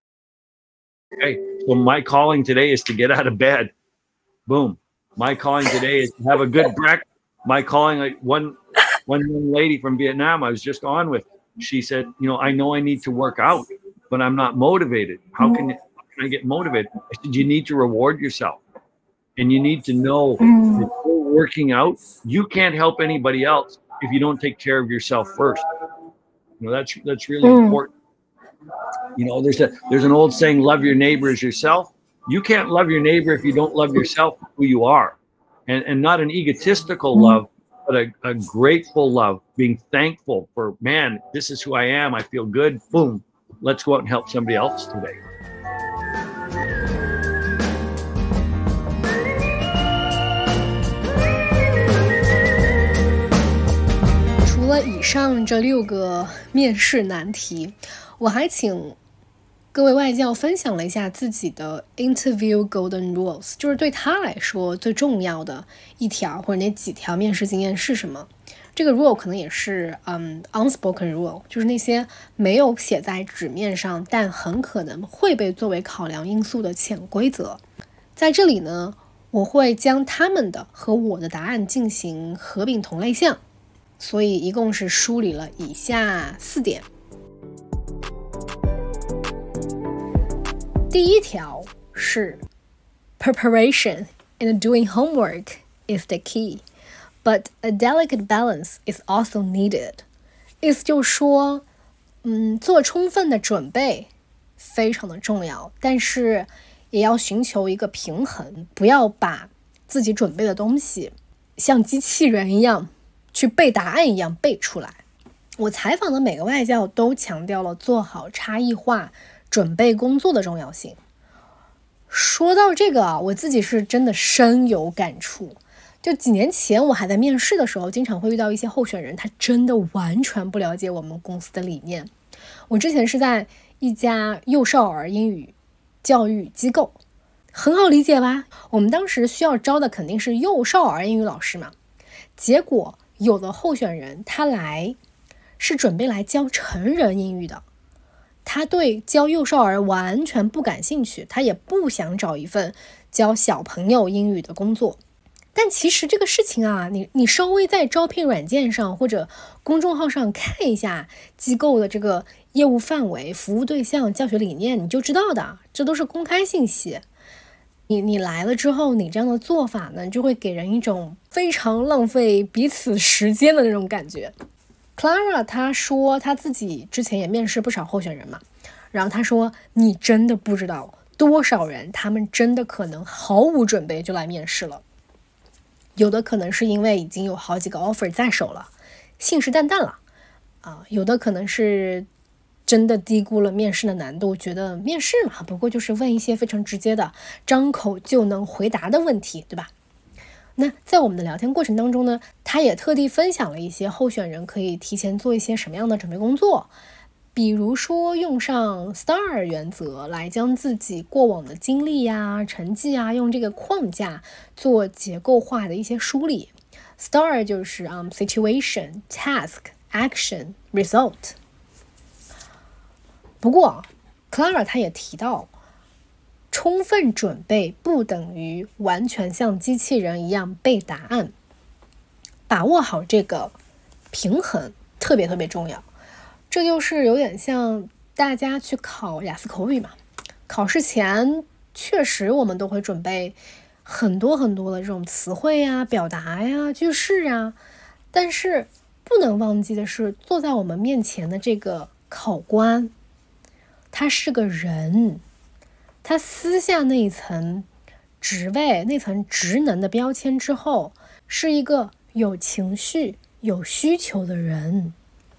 Okay, so my calling today is to get out of bed. Boom. My calling today is to have a good breakfast. My calling, like one one young lady from Vietnam I was just on with, she said, you know, I know I need to work out, but I'm not motivated. How can, how can I get motivated? I said, you need to reward yourself. And you need to know mm. that you're working out. You can't help anybody else if you don't take care of yourself first. You know, that's that's really mm. important. You know, there's a there's an old saying, love your neighbor as yourself. You can't love your neighbor if you don't love yourself, who you are. And and not an egotistical mm. love, but a, a grateful love, being thankful for, man, this is who I am. I feel good. Boom. Let's go out and help somebody else today. 除了以上这六个面试难题，我还请各位外教分享了一下自己的 interview golden rules， 就是对他来说最重要的一条或者那几条面试经验是什么。这个 rule 可能也是嗯、um, unspoken rule， 就是那些没有写在纸面上但很可能会被作为考量因素的潜规则。在这里呢，我会将他们的和我的答案进行合并同类项，所以一共是梳理了以下四点。第一条是 preparation and doing homework is the key, but a delicate balance is also needed. 意思就是说，嗯，做充分的准备非常的重要，但是也要寻求一个平衡，不要把自己准备的东西像机器人一样去背答案一样背出来。我采访的每个外教都强调了做好差异化准备工作的重要性。说到这个啊，我自己是真的深有感触。就几年前我还在面试的时候，经常会遇到一些候选人，他真的完全不了解我们公司的理念。我之前是在一家幼少儿英语教育机构，很好理解吧？我们当时需要招的肯定是幼少儿英语老师嘛。结果有的候选人他来是准备来教成人英语的，他对教幼少儿完全不感兴趣，他也不想找一份教小朋友英语的工作。但其实这个事情啊，你你稍微在招聘软件上或者公众号上看一下机构的这个业务范围、服务对象、教学理念，你就知道的，这都是公开信息。 你你来了之后，你这样的做法呢，就会给人一种非常浪费彼此时间的那种感觉。Clara 她说她自己之前也面试不少候选人嘛，然后她说你真的不知道多少人他们真的可能毫无准备就来面试了，有的可能是因为已经有好几个 offer 在手了，信誓旦旦了啊，有的可能是真的低估了面试的难度，觉得面试嘛不过就是问一些非常直接的张口就能回答的问题，对吧？那在我们的聊天过程当中呢，他也特地分享了一些候选人可以提前做一些什么样的准备工作，比如说用上 S T A R 原则来将自己过往的经历呀、成绩啊，用这个框架做结构化的一些梳理。S T A R 就是、um, Situation, Task, Action, Result。不过 Clara 她也提到，充分准备不等于完全像机器人一样背答案，把握好这个平衡特别特别重要。这就是有点像大家去考雅思口语嘛，考试前确实我们都会准备很多很多的这种词汇呀、表达呀、句式啊，但是不能忘记的是，坐在我们面前的这个考官，他是个人，他撕下那一层职位、那层职能的标签之后，是一个有情绪、有需求的人。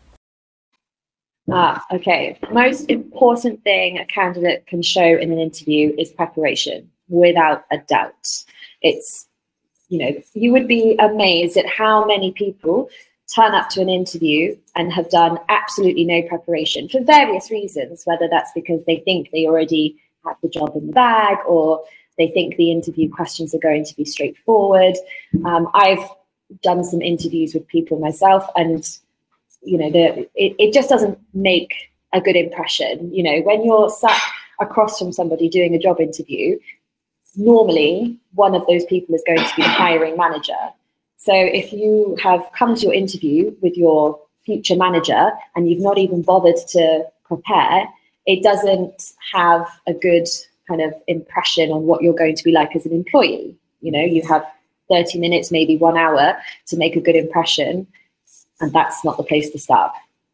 Ah, okay. Most important thing a candidate can show in an interview is preparation, without a doubt. It's, you know, you would be amazed at how many people turn up to an interview and have done absolutely no preparation for various reasons, whether that's because they think they already have the job in the bag or they think the interview questions are going to be straightforward. Um, I've done some interviews with people myself, and you know, the, it, it just doesn't make a good impression. You know, when you're sat across from somebody doing a job interview, normally one of those people is going to be the hiring manager. So if you have come to your interview with your future manager and you've not even bothered to prepare, it doesn't have a good kind of impression on what you're going to be like as an employee. You know, you have thirty minutes, maybe one hour to make a good impression. And that's not the place to start.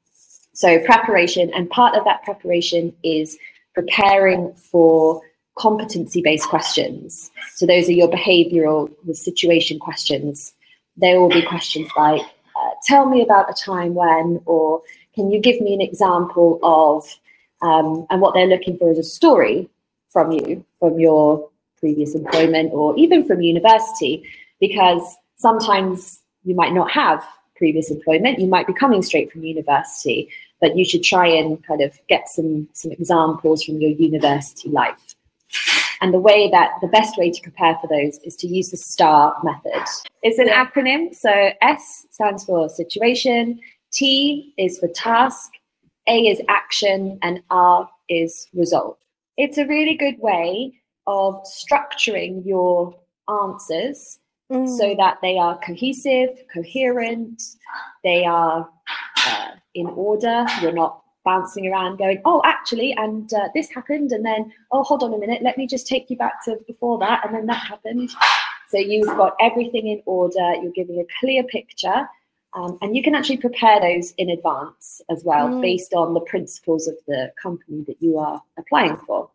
So preparation, and part of that preparation is preparing for competency-based questions. So those are your behavioral, the situation questions. There will be questions like, uh, tell me about a time when, or can you give me an example of, um, and what they're looking for is a story from you, from your previous employment, or even from university, because sometimes you might not have previous employment, you might be coming straight from university, but you should try and kind of get some some examples from your university life. And the way that the best way to prepare for those is to use the STAR method. It's an acronym, so S stands for situation, T is for task, A is action, and R is result. It's a really good way of structuring your answers so that they are cohesive, coherent, they are uh, in order. You're not bouncing around going, oh, actually, and uh, this happened, and then, oh, hold on a minute, let me just take you back to before that, and then that happened. So you've got everything in order, you're giving a clear picture, um, and you can actually prepare those in advance as well, mm. based on the principles of the company that you are applying for.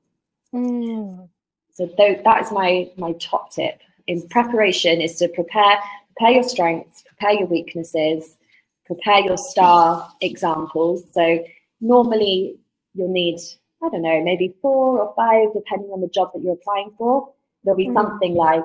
Mm. So th- that is my, my top tip. In preparation is to prepare, prepare your strengths, prepare your weaknesses, prepare your STAR examples. So normally you'll need, I don't know, maybe four or five, depending on the job that you're applying for. There'll be mm. something like,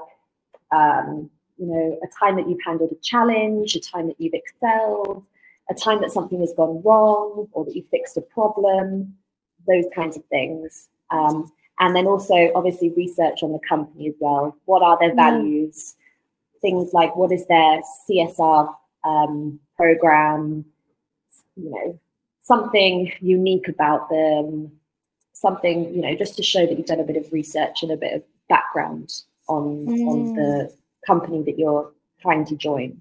um, you know, a time that you've handled a challenge, a time that you've excelled, a time that something has gone wrong, or that you fixed a problem, those kinds of things. Um, And then also, obviously, research on the company as well. What are their values? Mm. Things like, what is their C S R um, program? You know, something unique about them. Something, you know, just to show that you've done a bit of research and a bit of background on, mm. on the company that you're trying to join.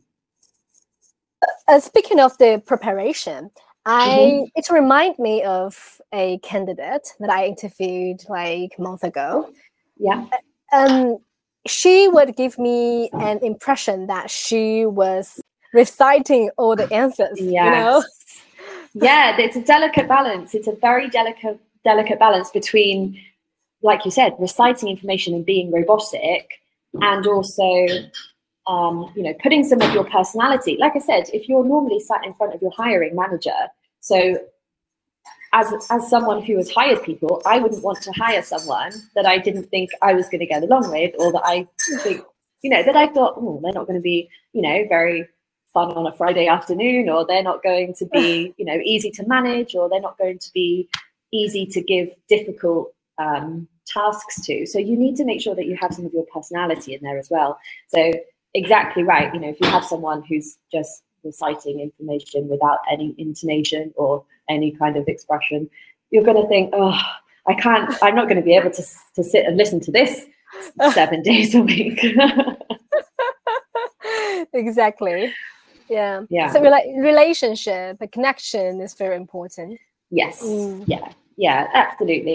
Uh, speaking of the preparation, I mm-hmm. it reminds me of a candidate that I interviewed like a month ago. Yeah. um, she would give me an impression that she was reciting all the answers. Yes. You know? Yeah, it's a delicate balance. It's a very delicate, delicate balance between, like you said, reciting information and being robotic, and also, um, you know, putting some of your personality. Like I said, if you're normally sat in front of your hiring manager, so as as someone who has hired people, I wouldn't want to hire someone that I didn't think I was going to get along with, or that I think, you know, that I thought, oh, they're not going to be, you know, very fun on a Friday afternoon, or they're not going to be, you know, easy to manage, or they're not going to be easy to give difficult um, tasks to. So you need to make sure that you have some of your personality in there as well. So exactly right. You know, if you have someone who's just reciting information without any intonation or any kind of expression, you're going to think, oh, I can't, I'm not going to be able to, to sit and listen to this seven days a week. Exactly. Yeah. Yeah. So rela- relationship, a connection is very important. Yes. Mm. Yeah. Yeah, absolutely.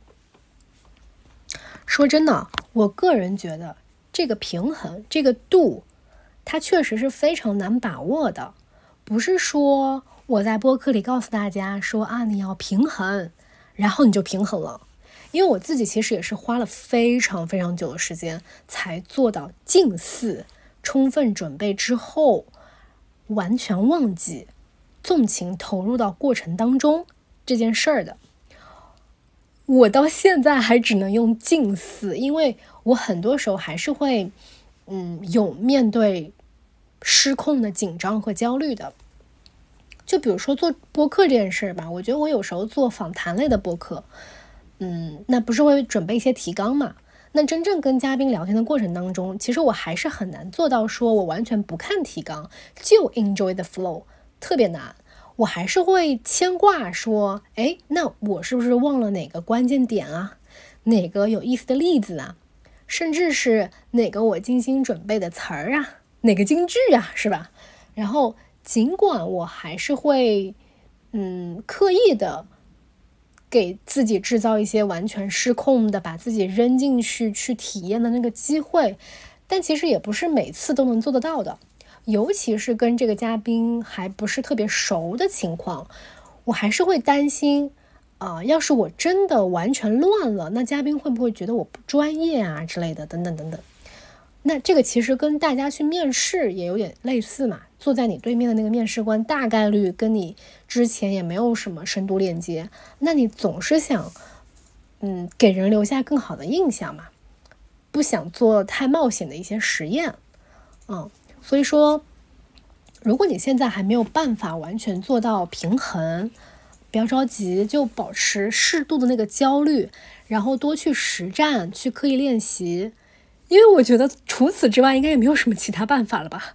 说真的，我个人觉得这个平衡，这个度，它确实是非常难把握的。不是说我在播客里告诉大家说啊，你要平衡，然后你就平衡了。因为我自己其实也是花了非常非常久的时间才做到近似充分准备之后，完全忘记纵情投入到过程当中这件事儿的。我到现在还只能用近似，因为我很多时候还是会嗯有面对失控的紧张和焦虑的。就比如说做播客这件事吧，我觉得我有时候做访谈类的播客，嗯，那不是会准备一些提纲嘛？那真正跟嘉宾聊天的过程当中，其实我还是很难做到说我完全不看提纲就 enjoy the flow， 特别难。我还是会牵挂说，哎，那我是不是忘了哪个关键点啊？哪个有意思的例子啊？甚至是哪个我精心准备的词儿啊？哪个金句啊？是吧？然后尽管我还是会，嗯，刻意的给自己制造一些完全失控的把自己扔进去去体验的那个机会，但其实也不是每次都能做得到的。尤其是跟这个嘉宾还不是特别熟的情况，我还是会担心啊、呃，要是我真的完全乱了，那嘉宾会不会觉得我不专业啊之类的，等等等等。那这个其实跟大家去面试也有点类似嘛，坐在你对面的那个面试官大概率跟你之前也没有什么深度链接，那你总是想嗯给人留下更好的印象嘛，不想做太冒险的一些实验。嗯，所以说如果你现在还没有办法完全做到平衡，不要着急，就保持适度的那个焦虑，然后多去实战，去刻意练习，因为我觉得除此之外应该也没有什么其他办法了吧。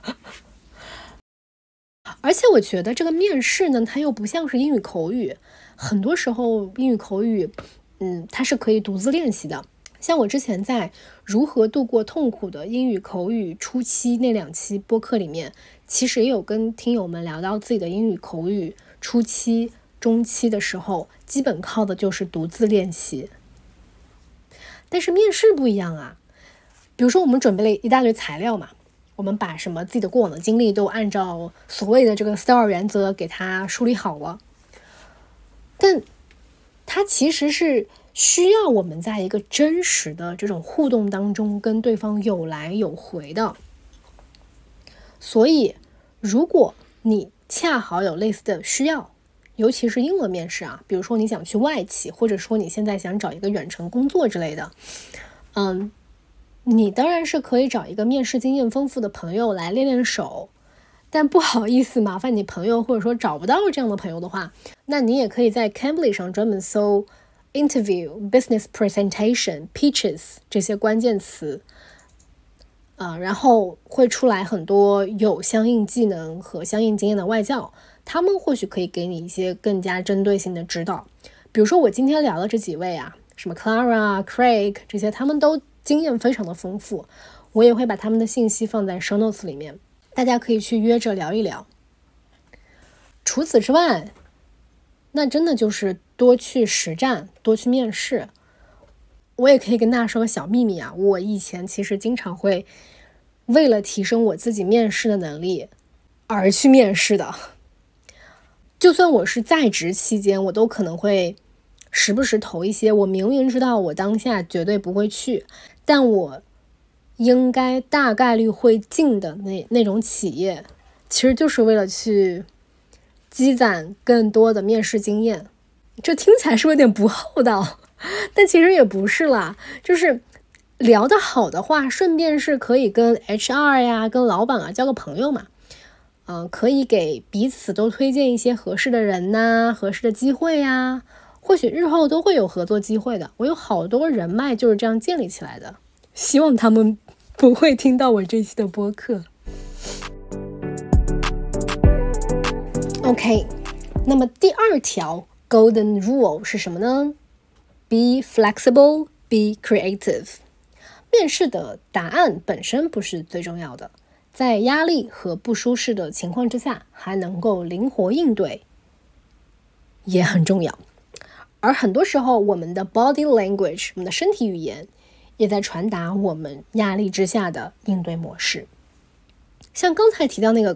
而且我觉得这个面试呢，它又不像是英语口语，很多时候英语口语嗯，它是可以独自练习的。像我之前在如何度过痛苦的英语口语初期那两期播客里面，其实也有跟听友们聊到自己的英语口语初期中期的时候，基本靠的就是独自练习。但是面试不一样啊，比如说我们准备了一大堆材料嘛，我们把什么自己的过往的经历都按照所谓的这个 S T A R 原则给它梳理好了，但它其实是需要我们在一个真实的这种互动当中跟对方有来有回的。所以如果你恰好有类似的需要，尤其是英文面试啊，比如说你想去外企，或者说你现在想找一个远程工作之类的，嗯，你当然是可以找一个面试经验丰富的朋友来练练手，但不好意思麻烦你朋友，或者说找不到这样的朋友的话，那你也可以在 Cambly 上专门搜 interview, business presentation, pitches 这些关键词，呃，然后会出来很多有相应技能和相应经验的外教，他们或许可以给你一些更加针对性的指导。比如说我今天聊的这几位啊，什么 Clara、Craig 这些，他们都经验非常的丰富，我也会把他们的信息放在 show notes 里面，大家可以去约着聊一聊。除此之外，那真的就是多去实战，多去面试。 我也可以跟大家说个小秘密啊，我以前其实经常会为了提升我自己面试的能力而去面试的。就算我是在职期间，我都可能会时不时投一些我明明知道我当下绝对不会去，但我应该大概率会进的那那种企业，其实就是为了去积攒更多的面试经验。这听起来是不是有点不厚道？但其实也不是啦，就是聊得好的话，顺便是可以跟 H R 呀、跟老板啊交个朋友嘛。嗯、呃，可以给彼此都推荐一些合适的人呐、合适的机会呀，或许日后都会有合作机会的。我有好多人脉就是这样建立起来的，希望他们不会听到我这期的播客。OK， 那么第二条 Golden Rule 是什么呢？ Be flexible, be creative。 面试的答案本身不是最重要的，在压力和不舒适的情况之下，还能够灵活应对也很重要。而很多时候，我们的 body language， 我们的身体语言也在传达我们压力之下的应对模式。像刚才提到那个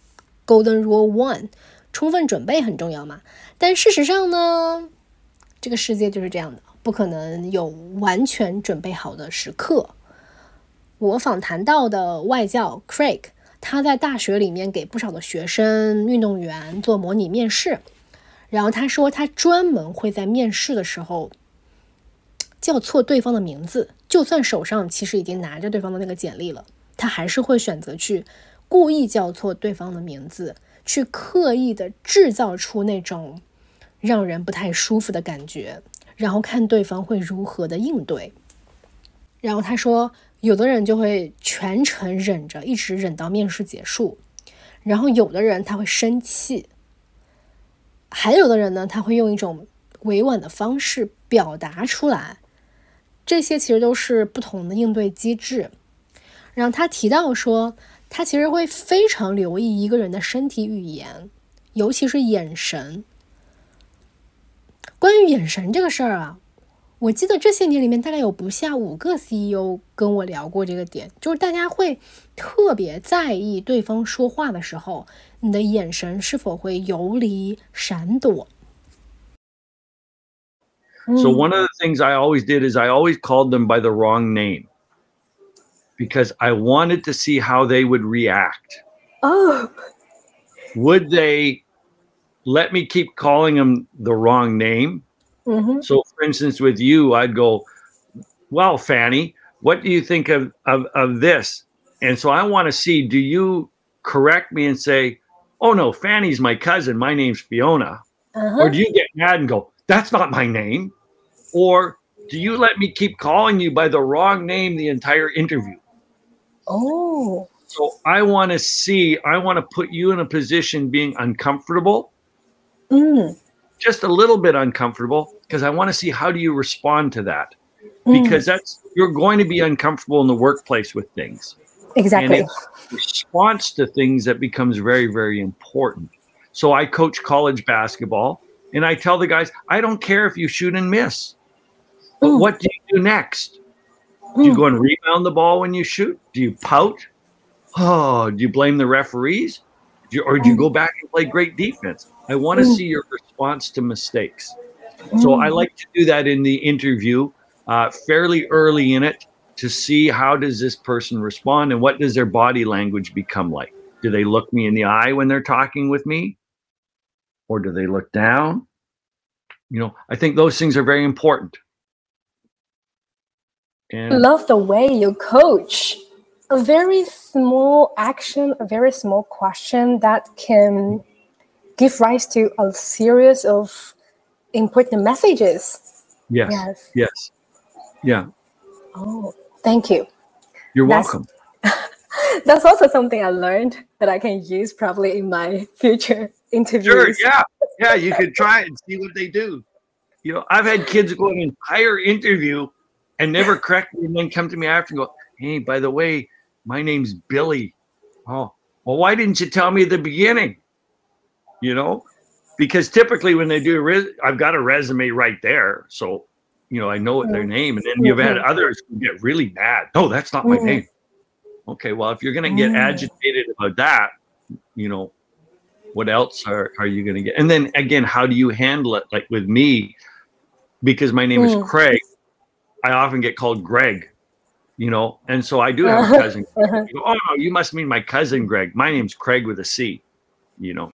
Golden Rule One， 充分准备很重要嘛，但事实上呢，这个世界就是这样的，不可能有完全准备好的时刻。我访谈到的外教 Craig， 他在大学里面给不少的学生、运动员做模拟面试，然后他说他专门会在面试的时候叫错对方的名字，就算手上其实已经拿着对方的那个简历了，他还是会选择去故意叫错对方的名字，去刻意的制造出那种让人不太舒服的感觉，然后看对方会如何的应对。然后他说有的人就会全程忍着，一直忍到面试结束，然后有的人他会生气，还有的人呢，他会用一种委婉的方式表达出来。这些其实都是不同的应对机制。然后他提到说，他其实会非常留意一个人的身体语言，尤其是眼神。关于眼神这个事儿啊，我记得这些年里面大概有不下五个 C E O 跟我聊过这个点，就是大家会特别在意对方说话的时候，你的眼神是否会游离、闪躲。 So one of the things I always did is I always called them by the wrong name because I wanted to see how they would react. Oh. Would they let me keep calling them the wrong name? Mm-hmm. So for instance, with you, I'd go, well, Fanny, what do you think of, of, of this? And so I want to see, do you correct me and say, oh no, Fanny's my cousin, my name's Fiona? Uh-huh. Or do you get mad and go, that's not my name? Or do you let me keep calling you by the wrong name the entire interview? Oh. So I want to see, I want to put you in a position being uncomfortable, mm. just a little bit uncomfortable, because I want to see how do you respond to that? Mm. Because that's, you're going to be uncomfortable in the workplace with things. Exactly. And it's response to things that becomes very, very important. So I coach college basketball, and I tell the guys, I don't care if you shoot and miss. But mm. what do you do next? Do you go and rebound the ball when you shoot? Do you pout? Oh, do you blame the referees? Do you, or do you go back and play great defense? I want to see your response to mistakes. So I like to do that in the interview uh, fairly early in it to see how does this person respond and what does their body language become like. Do they look me in the eye when they're talking with me? Or do they look down? You know, I think those things are very important. And love the way you coach. A very small action, a very small question that can give rise to a series of important messages. Yes. Yes. Yes. Yeah. Oh, thank you. You're That's, welcome. That's also something I learned that I can use probably in my future interviews. Sure. Yeah. Yeah. You could try it and see what they do. You know, I've had kids go an entire interview and never correct me and then come to me after and go, hey, by the way, my name's Billy. Oh, well, why didn't you tell me at the beginning? You know, because typically when they do, res- I've got a resume right there. So you know, I know their name. And then you've had others who get really mad. No, that's not my name. Okay, well, if you're going to get agitated about that, you know, what else are, are you going to get? And then again, how do you handle it? Like with me, because my name is Craig, I often get called Greg, you know, and so I do have a cousin. You go, oh, no, you must mean my cousin Greg. My name's Craig with a C, you know.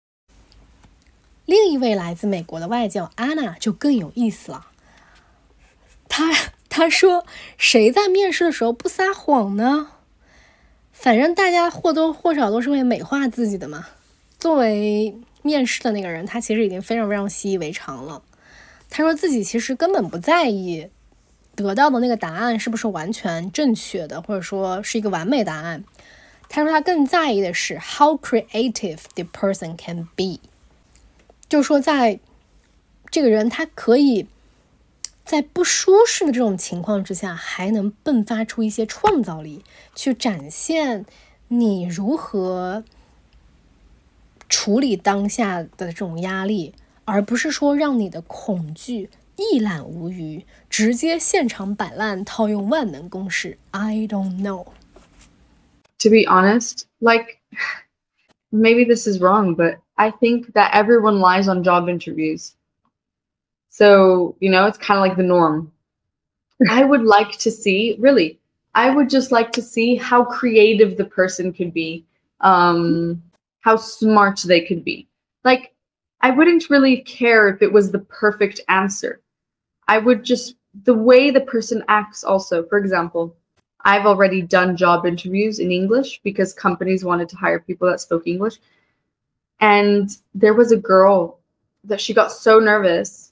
另一位来自美国的外教安娜就更有意思了。她她说，谁在面试的时候不撒谎呢？反正大家或多或少都是会美化自己的嘛。作为面试的那个人，他其实已经非常非常习以为常了。他说自己其实根本不在意得到的那个答案是不是完全正确的，或者说是一个完美答案。他说他更在意的是 how creative the person can be， 就是说在这个人他可以在不舒适的这种情况之下，还能迸发出一些创造力，去展现你如何处理当下的这种压力，而不是说让你的恐惧一览无余，直接现场摆烂，套用万能公式 I don't know. To be honest, like, maybe this is wrong, but I think that everyone lies on job interviews. So, you know, it's kind of like the norm. I would like to see, really, I would just like to see how creative the person could be, um, how smart they could be. Like, I wouldn't really care if it was the perfect answer. I would just, the way the person acts also. For example, I've already done job interviews in English because companies wanted to hire people that spoke English. And there was a girl that she got so nervous.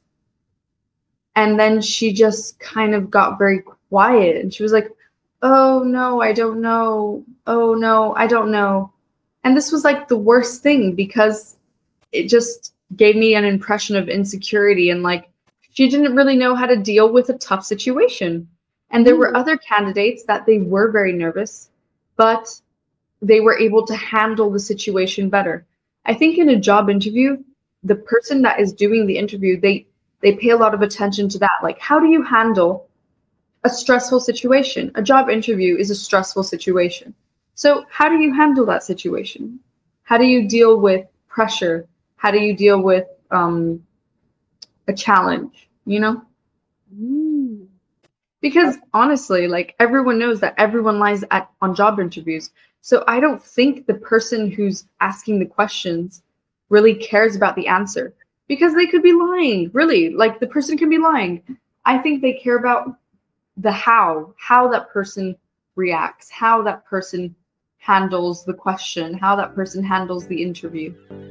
And then she just kind of got very quiet. And she was like, oh, no, I don't know. Oh, no, I don't know. And this was like the worst thing because it just gave me an impression of insecurity. And like, she didn't really know how to deal with a tough situation. And there were other candidates that they were very nervous, but they were able to handle the situation better. I think in a job interview, the person that is doing the interview, they they pay a lot of attention to that. Like, how do you handle a stressful situation? A job interview is a stressful situation. So how do you handle that situation? How do you deal with pressure? How do you deal with um, a challenge, you know? Mm. Because honestly, like everyone knows that everyone lies at, on job interviews. So I don't think the person who's asking the questions really cares about the answer because they could be lying. Really, like the person can be lying. I think they care about the how, how that person reacts, how that person handles the question, how that person handles the interview.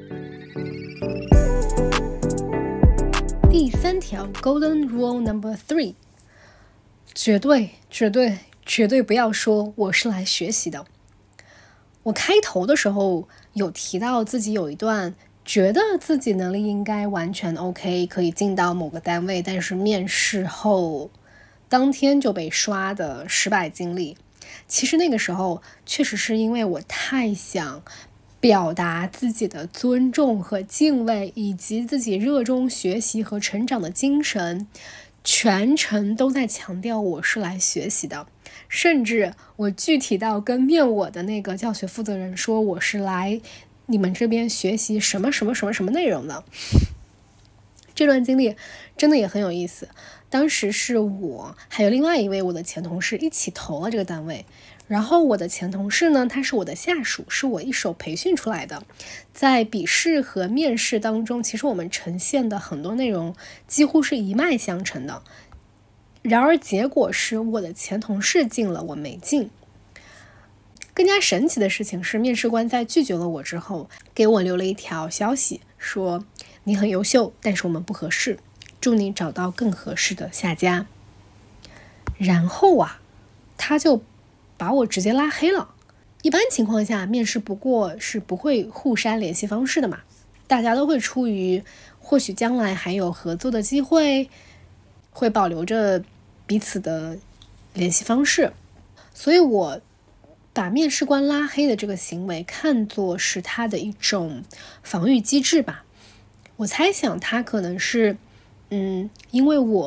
第三条 Golden Rule Number Three， 绝对绝对绝对不要说我是来学习的。我开头的时候有提到自己有一段觉得自己能力应该完全 OK， 可以进到某个单位，但是面试后当天就被刷的失败经历。其实那个时候确实是因为我太想表达自己的尊重和敬畏，以及自己热衷学习和成长的精神，全程都在强调我是来学习的。甚至我具体到跟面我的那个教学负责人说，我是来你们这边学习什么什么什么什么内容的。这段经历真的也很有意思。当时是我还有另外一位我的前同事一起投了这个单位，然后我的前同事呢，他是我的下属，是我一手培训出来的。在笔试和面试当中，其实我们呈现的很多内容几乎是一脉相承的。然而结果是我的前同事进了，我没进。更加神奇的事情是，面试官在拒绝了我之后，给我留了一条消息，说你很优秀，但是我们不合适，祝你找到更合适的下家。然后啊，他就把我直接拉黑了。一般情况下，面试不过是不会互删联系方式的嘛，大家都会出于或许将来还有合作的机会，会保留着彼此的联系方式。所以我把面试官拉黑的这个行为看作是他的一种防御机制吧。我猜想他可能是嗯，因为我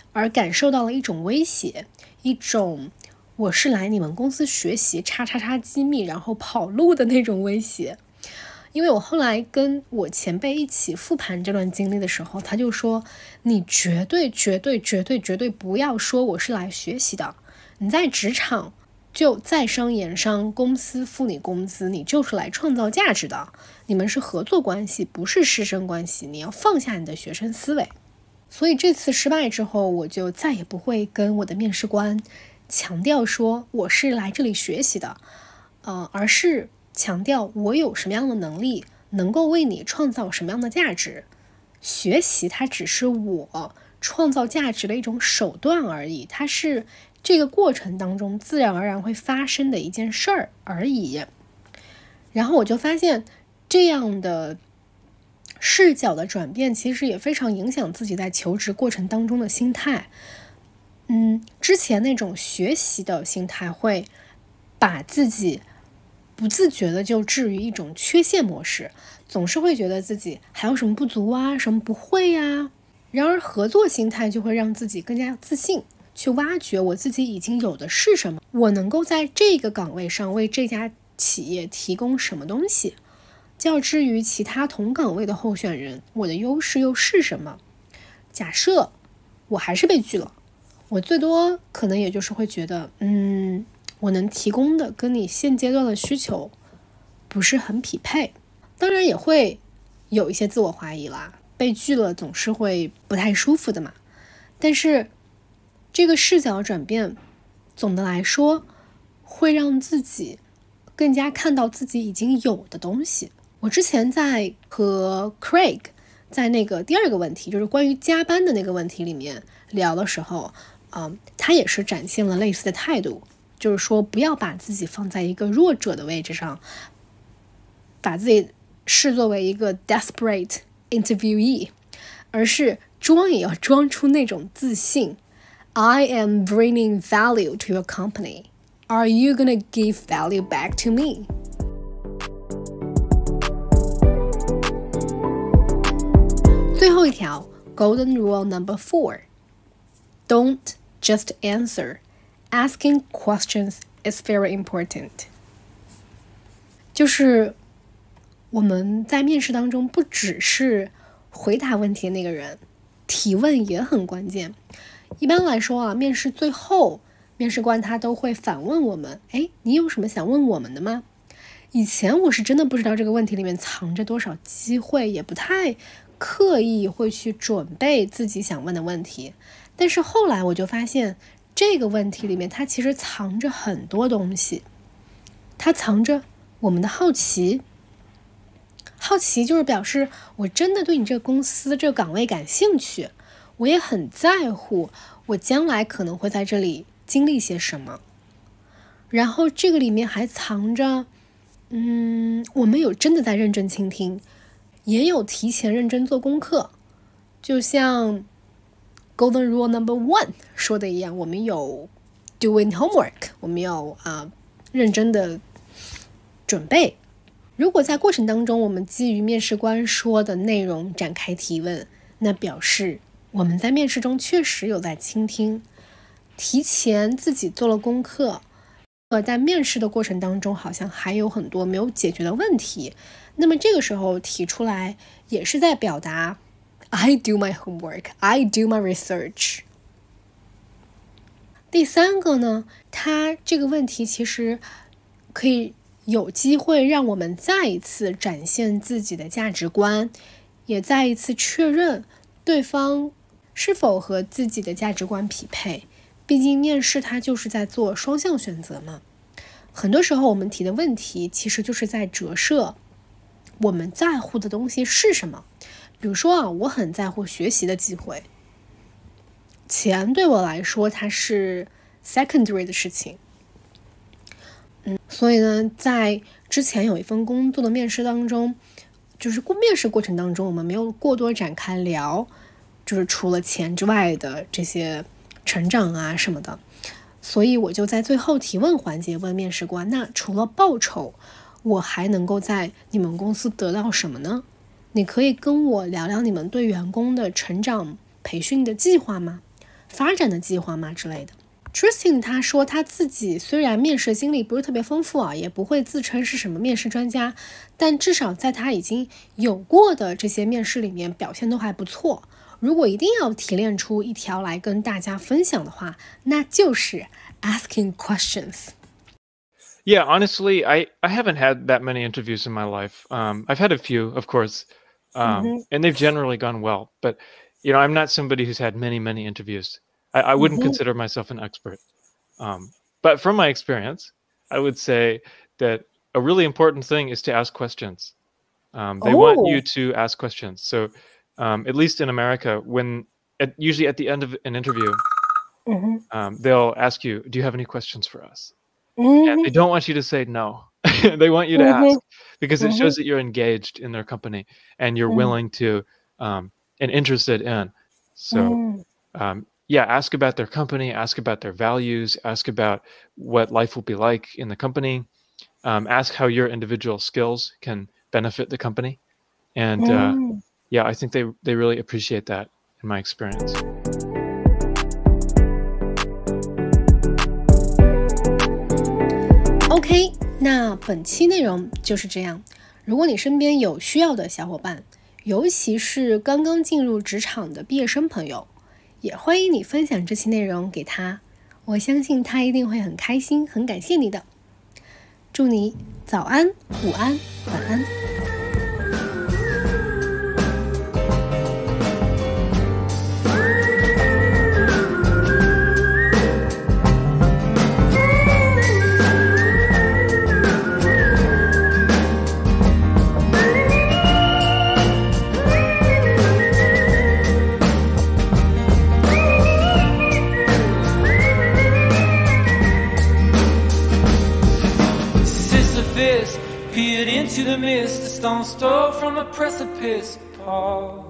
而感受到了一种威胁，一种我是来你们公司学习叉叉叉机密然后跑路的那种威胁。因为我后来跟我前辈一起复盘这段经历的时候，他就说你绝对绝对绝对绝对不要说我是来学习的，你在职场就在商言商，公司付你工资，你就是来创造价值的，你们是合作关系，不是师生关系，你要放下你的学生思维。所以这次失败之后，我就再也不会跟我的面试官强调说我是来这里学习的，呃，而是强调我有什么样的能力，能够为你创造什么样的价值。学习它只是我创造价值的一种手段而已，它是这个过程当中自然而然会发生的一件事儿而已。然后我就发现这样的视角的转变其实也非常影响自己在求职过程当中的心态。嗯，之前那种学习的心态会把自己不自觉的就置于一种缺陷模式，总是会觉得自己还有什么不足啊，什么不会呀。然而合作心态就会让自己更加自信，去挖掘我自己已经有的是什么，我能够在这个岗位上为这家企业提供什么东西。较之于其他同岗位的候选人，我的优势又是什么？假设我还是被拒了，我最多可能也就是会觉得，嗯，我能提供的跟你现阶段的需求不是很匹配。当然也会有一些自我怀疑啦，被拒了总是会不太舒服的嘛。但是这个视角转变，总的来说会让自己更加看到自己已经有的东西。我之前在和 Craig 在那个第二个问题，就是关于加班的那个问题里面聊的时候，嗯，他也是展现了类似的态度，就是说不要把自己放在一个弱者的位置上，把自己视作为一个 desperate interviewee， 而是装也要装出那种自信。 I am bringing value to your company. Are you gonna give value back to me? 最后一条 Golden Rule Number Four: Don't just answer. Asking questions is very important. 就是我们在面试当中不只是回答问题的那个人，提问也很关键。一般来说啊，面试最后面试官他都会反问我们，哎，你有什么想问我们的吗？以前我是真的不知道这个问题里面藏着多少机会，也不太刻意会去准备自己想问的问题。但是后来我就发现这个问题里面它其实藏着很多东西，它藏着我们的好奇。好奇就是表示我真的对你这个公司这个岗位感兴趣，我也很在乎我将来可能会在这里经历些什么。然后这个里面还藏着嗯，我们有真的在认真倾听，也有提前认真做功课。就像 Golden Rule Number One 说的一样，我们有 doing homework， 我们要啊、呃、认真的准备。如果在过程当中我们基于面试官说的内容展开提问，那表示我们在面试中确实有在倾听，提前自己做了功课，呃，在面试的过程当中好像还有很多没有解决的问题，那么这个时候提出来也是在表达 I do my homework, I do my research。 第三个呢，它这个问题其实可以有机会让我们再一次展现自己的价值观，也再一次确认对方是否和自己的价值观匹配。毕竟面试它就是在做双向选择嘛。很多时候我们提的问题其实就是在折射我们在乎的东西是什么。比如说啊，我很在乎学习的机会，钱对我来说它是 secondary 的事情。嗯，所以呢，在之前有一份工作的面试当中，就是面试过程当中我们没有过多展开聊，就是除了钱之外的这些成长啊什么的。所以我就在最后提问环节问面试官，那除了报酬，我还能够在你们公司得到什么呢？你可以跟我聊聊你们对员工的成长培训的计划吗？ 发展的计划吗之类的。Tristan 他说他自己虽然面试经历不是特别丰富啊，也不会自称是什么面试专家，但至少在他已经有过的这些面试里面表现都还不错。如果一定要提炼出一条来跟大家分享的话，那就是 asking questions. Yeah, honestly, I, I haven't had that many interviews in my life. Um, I've had a few, of course, um, mm-hmm. and they've generally gone well. But, you know, I'm not somebody who's had many, many interviews. I, I wouldn't mm-hmm. consider myself an expert. Um, but from my experience, I would say that a really important thing is to ask questions. Um, they oh. want you to ask questions. So um, at least in America, when at, usually at the end of an interview, mm-hmm. um, they'll ask you, do you have any questions for us? Mm-hmm. And they don't want you to say no. They want you to mm-hmm. ask because it mm-hmm. shows that you're engaged in their company and you're mm-hmm. willing to um, and interested in. So, mm-hmm. um, yeah, ask about their company, ask about their values, ask about what life will be like in the company, um, ask how your individual skills can benefit the company. And mm-hmm. uh, yeah, I think they, they really appreciate that in my experience. OK， 那本期内容就是这样。如果你身边有需要的小伙伴，尤其是刚刚进入职场的毕业生朋友，也欢迎你分享这期内容给他，我相信他一定会很开心，很感谢你的。祝你早安、午安、晚安。 Peered into the mist, a stone's throw from a precipice. Pause.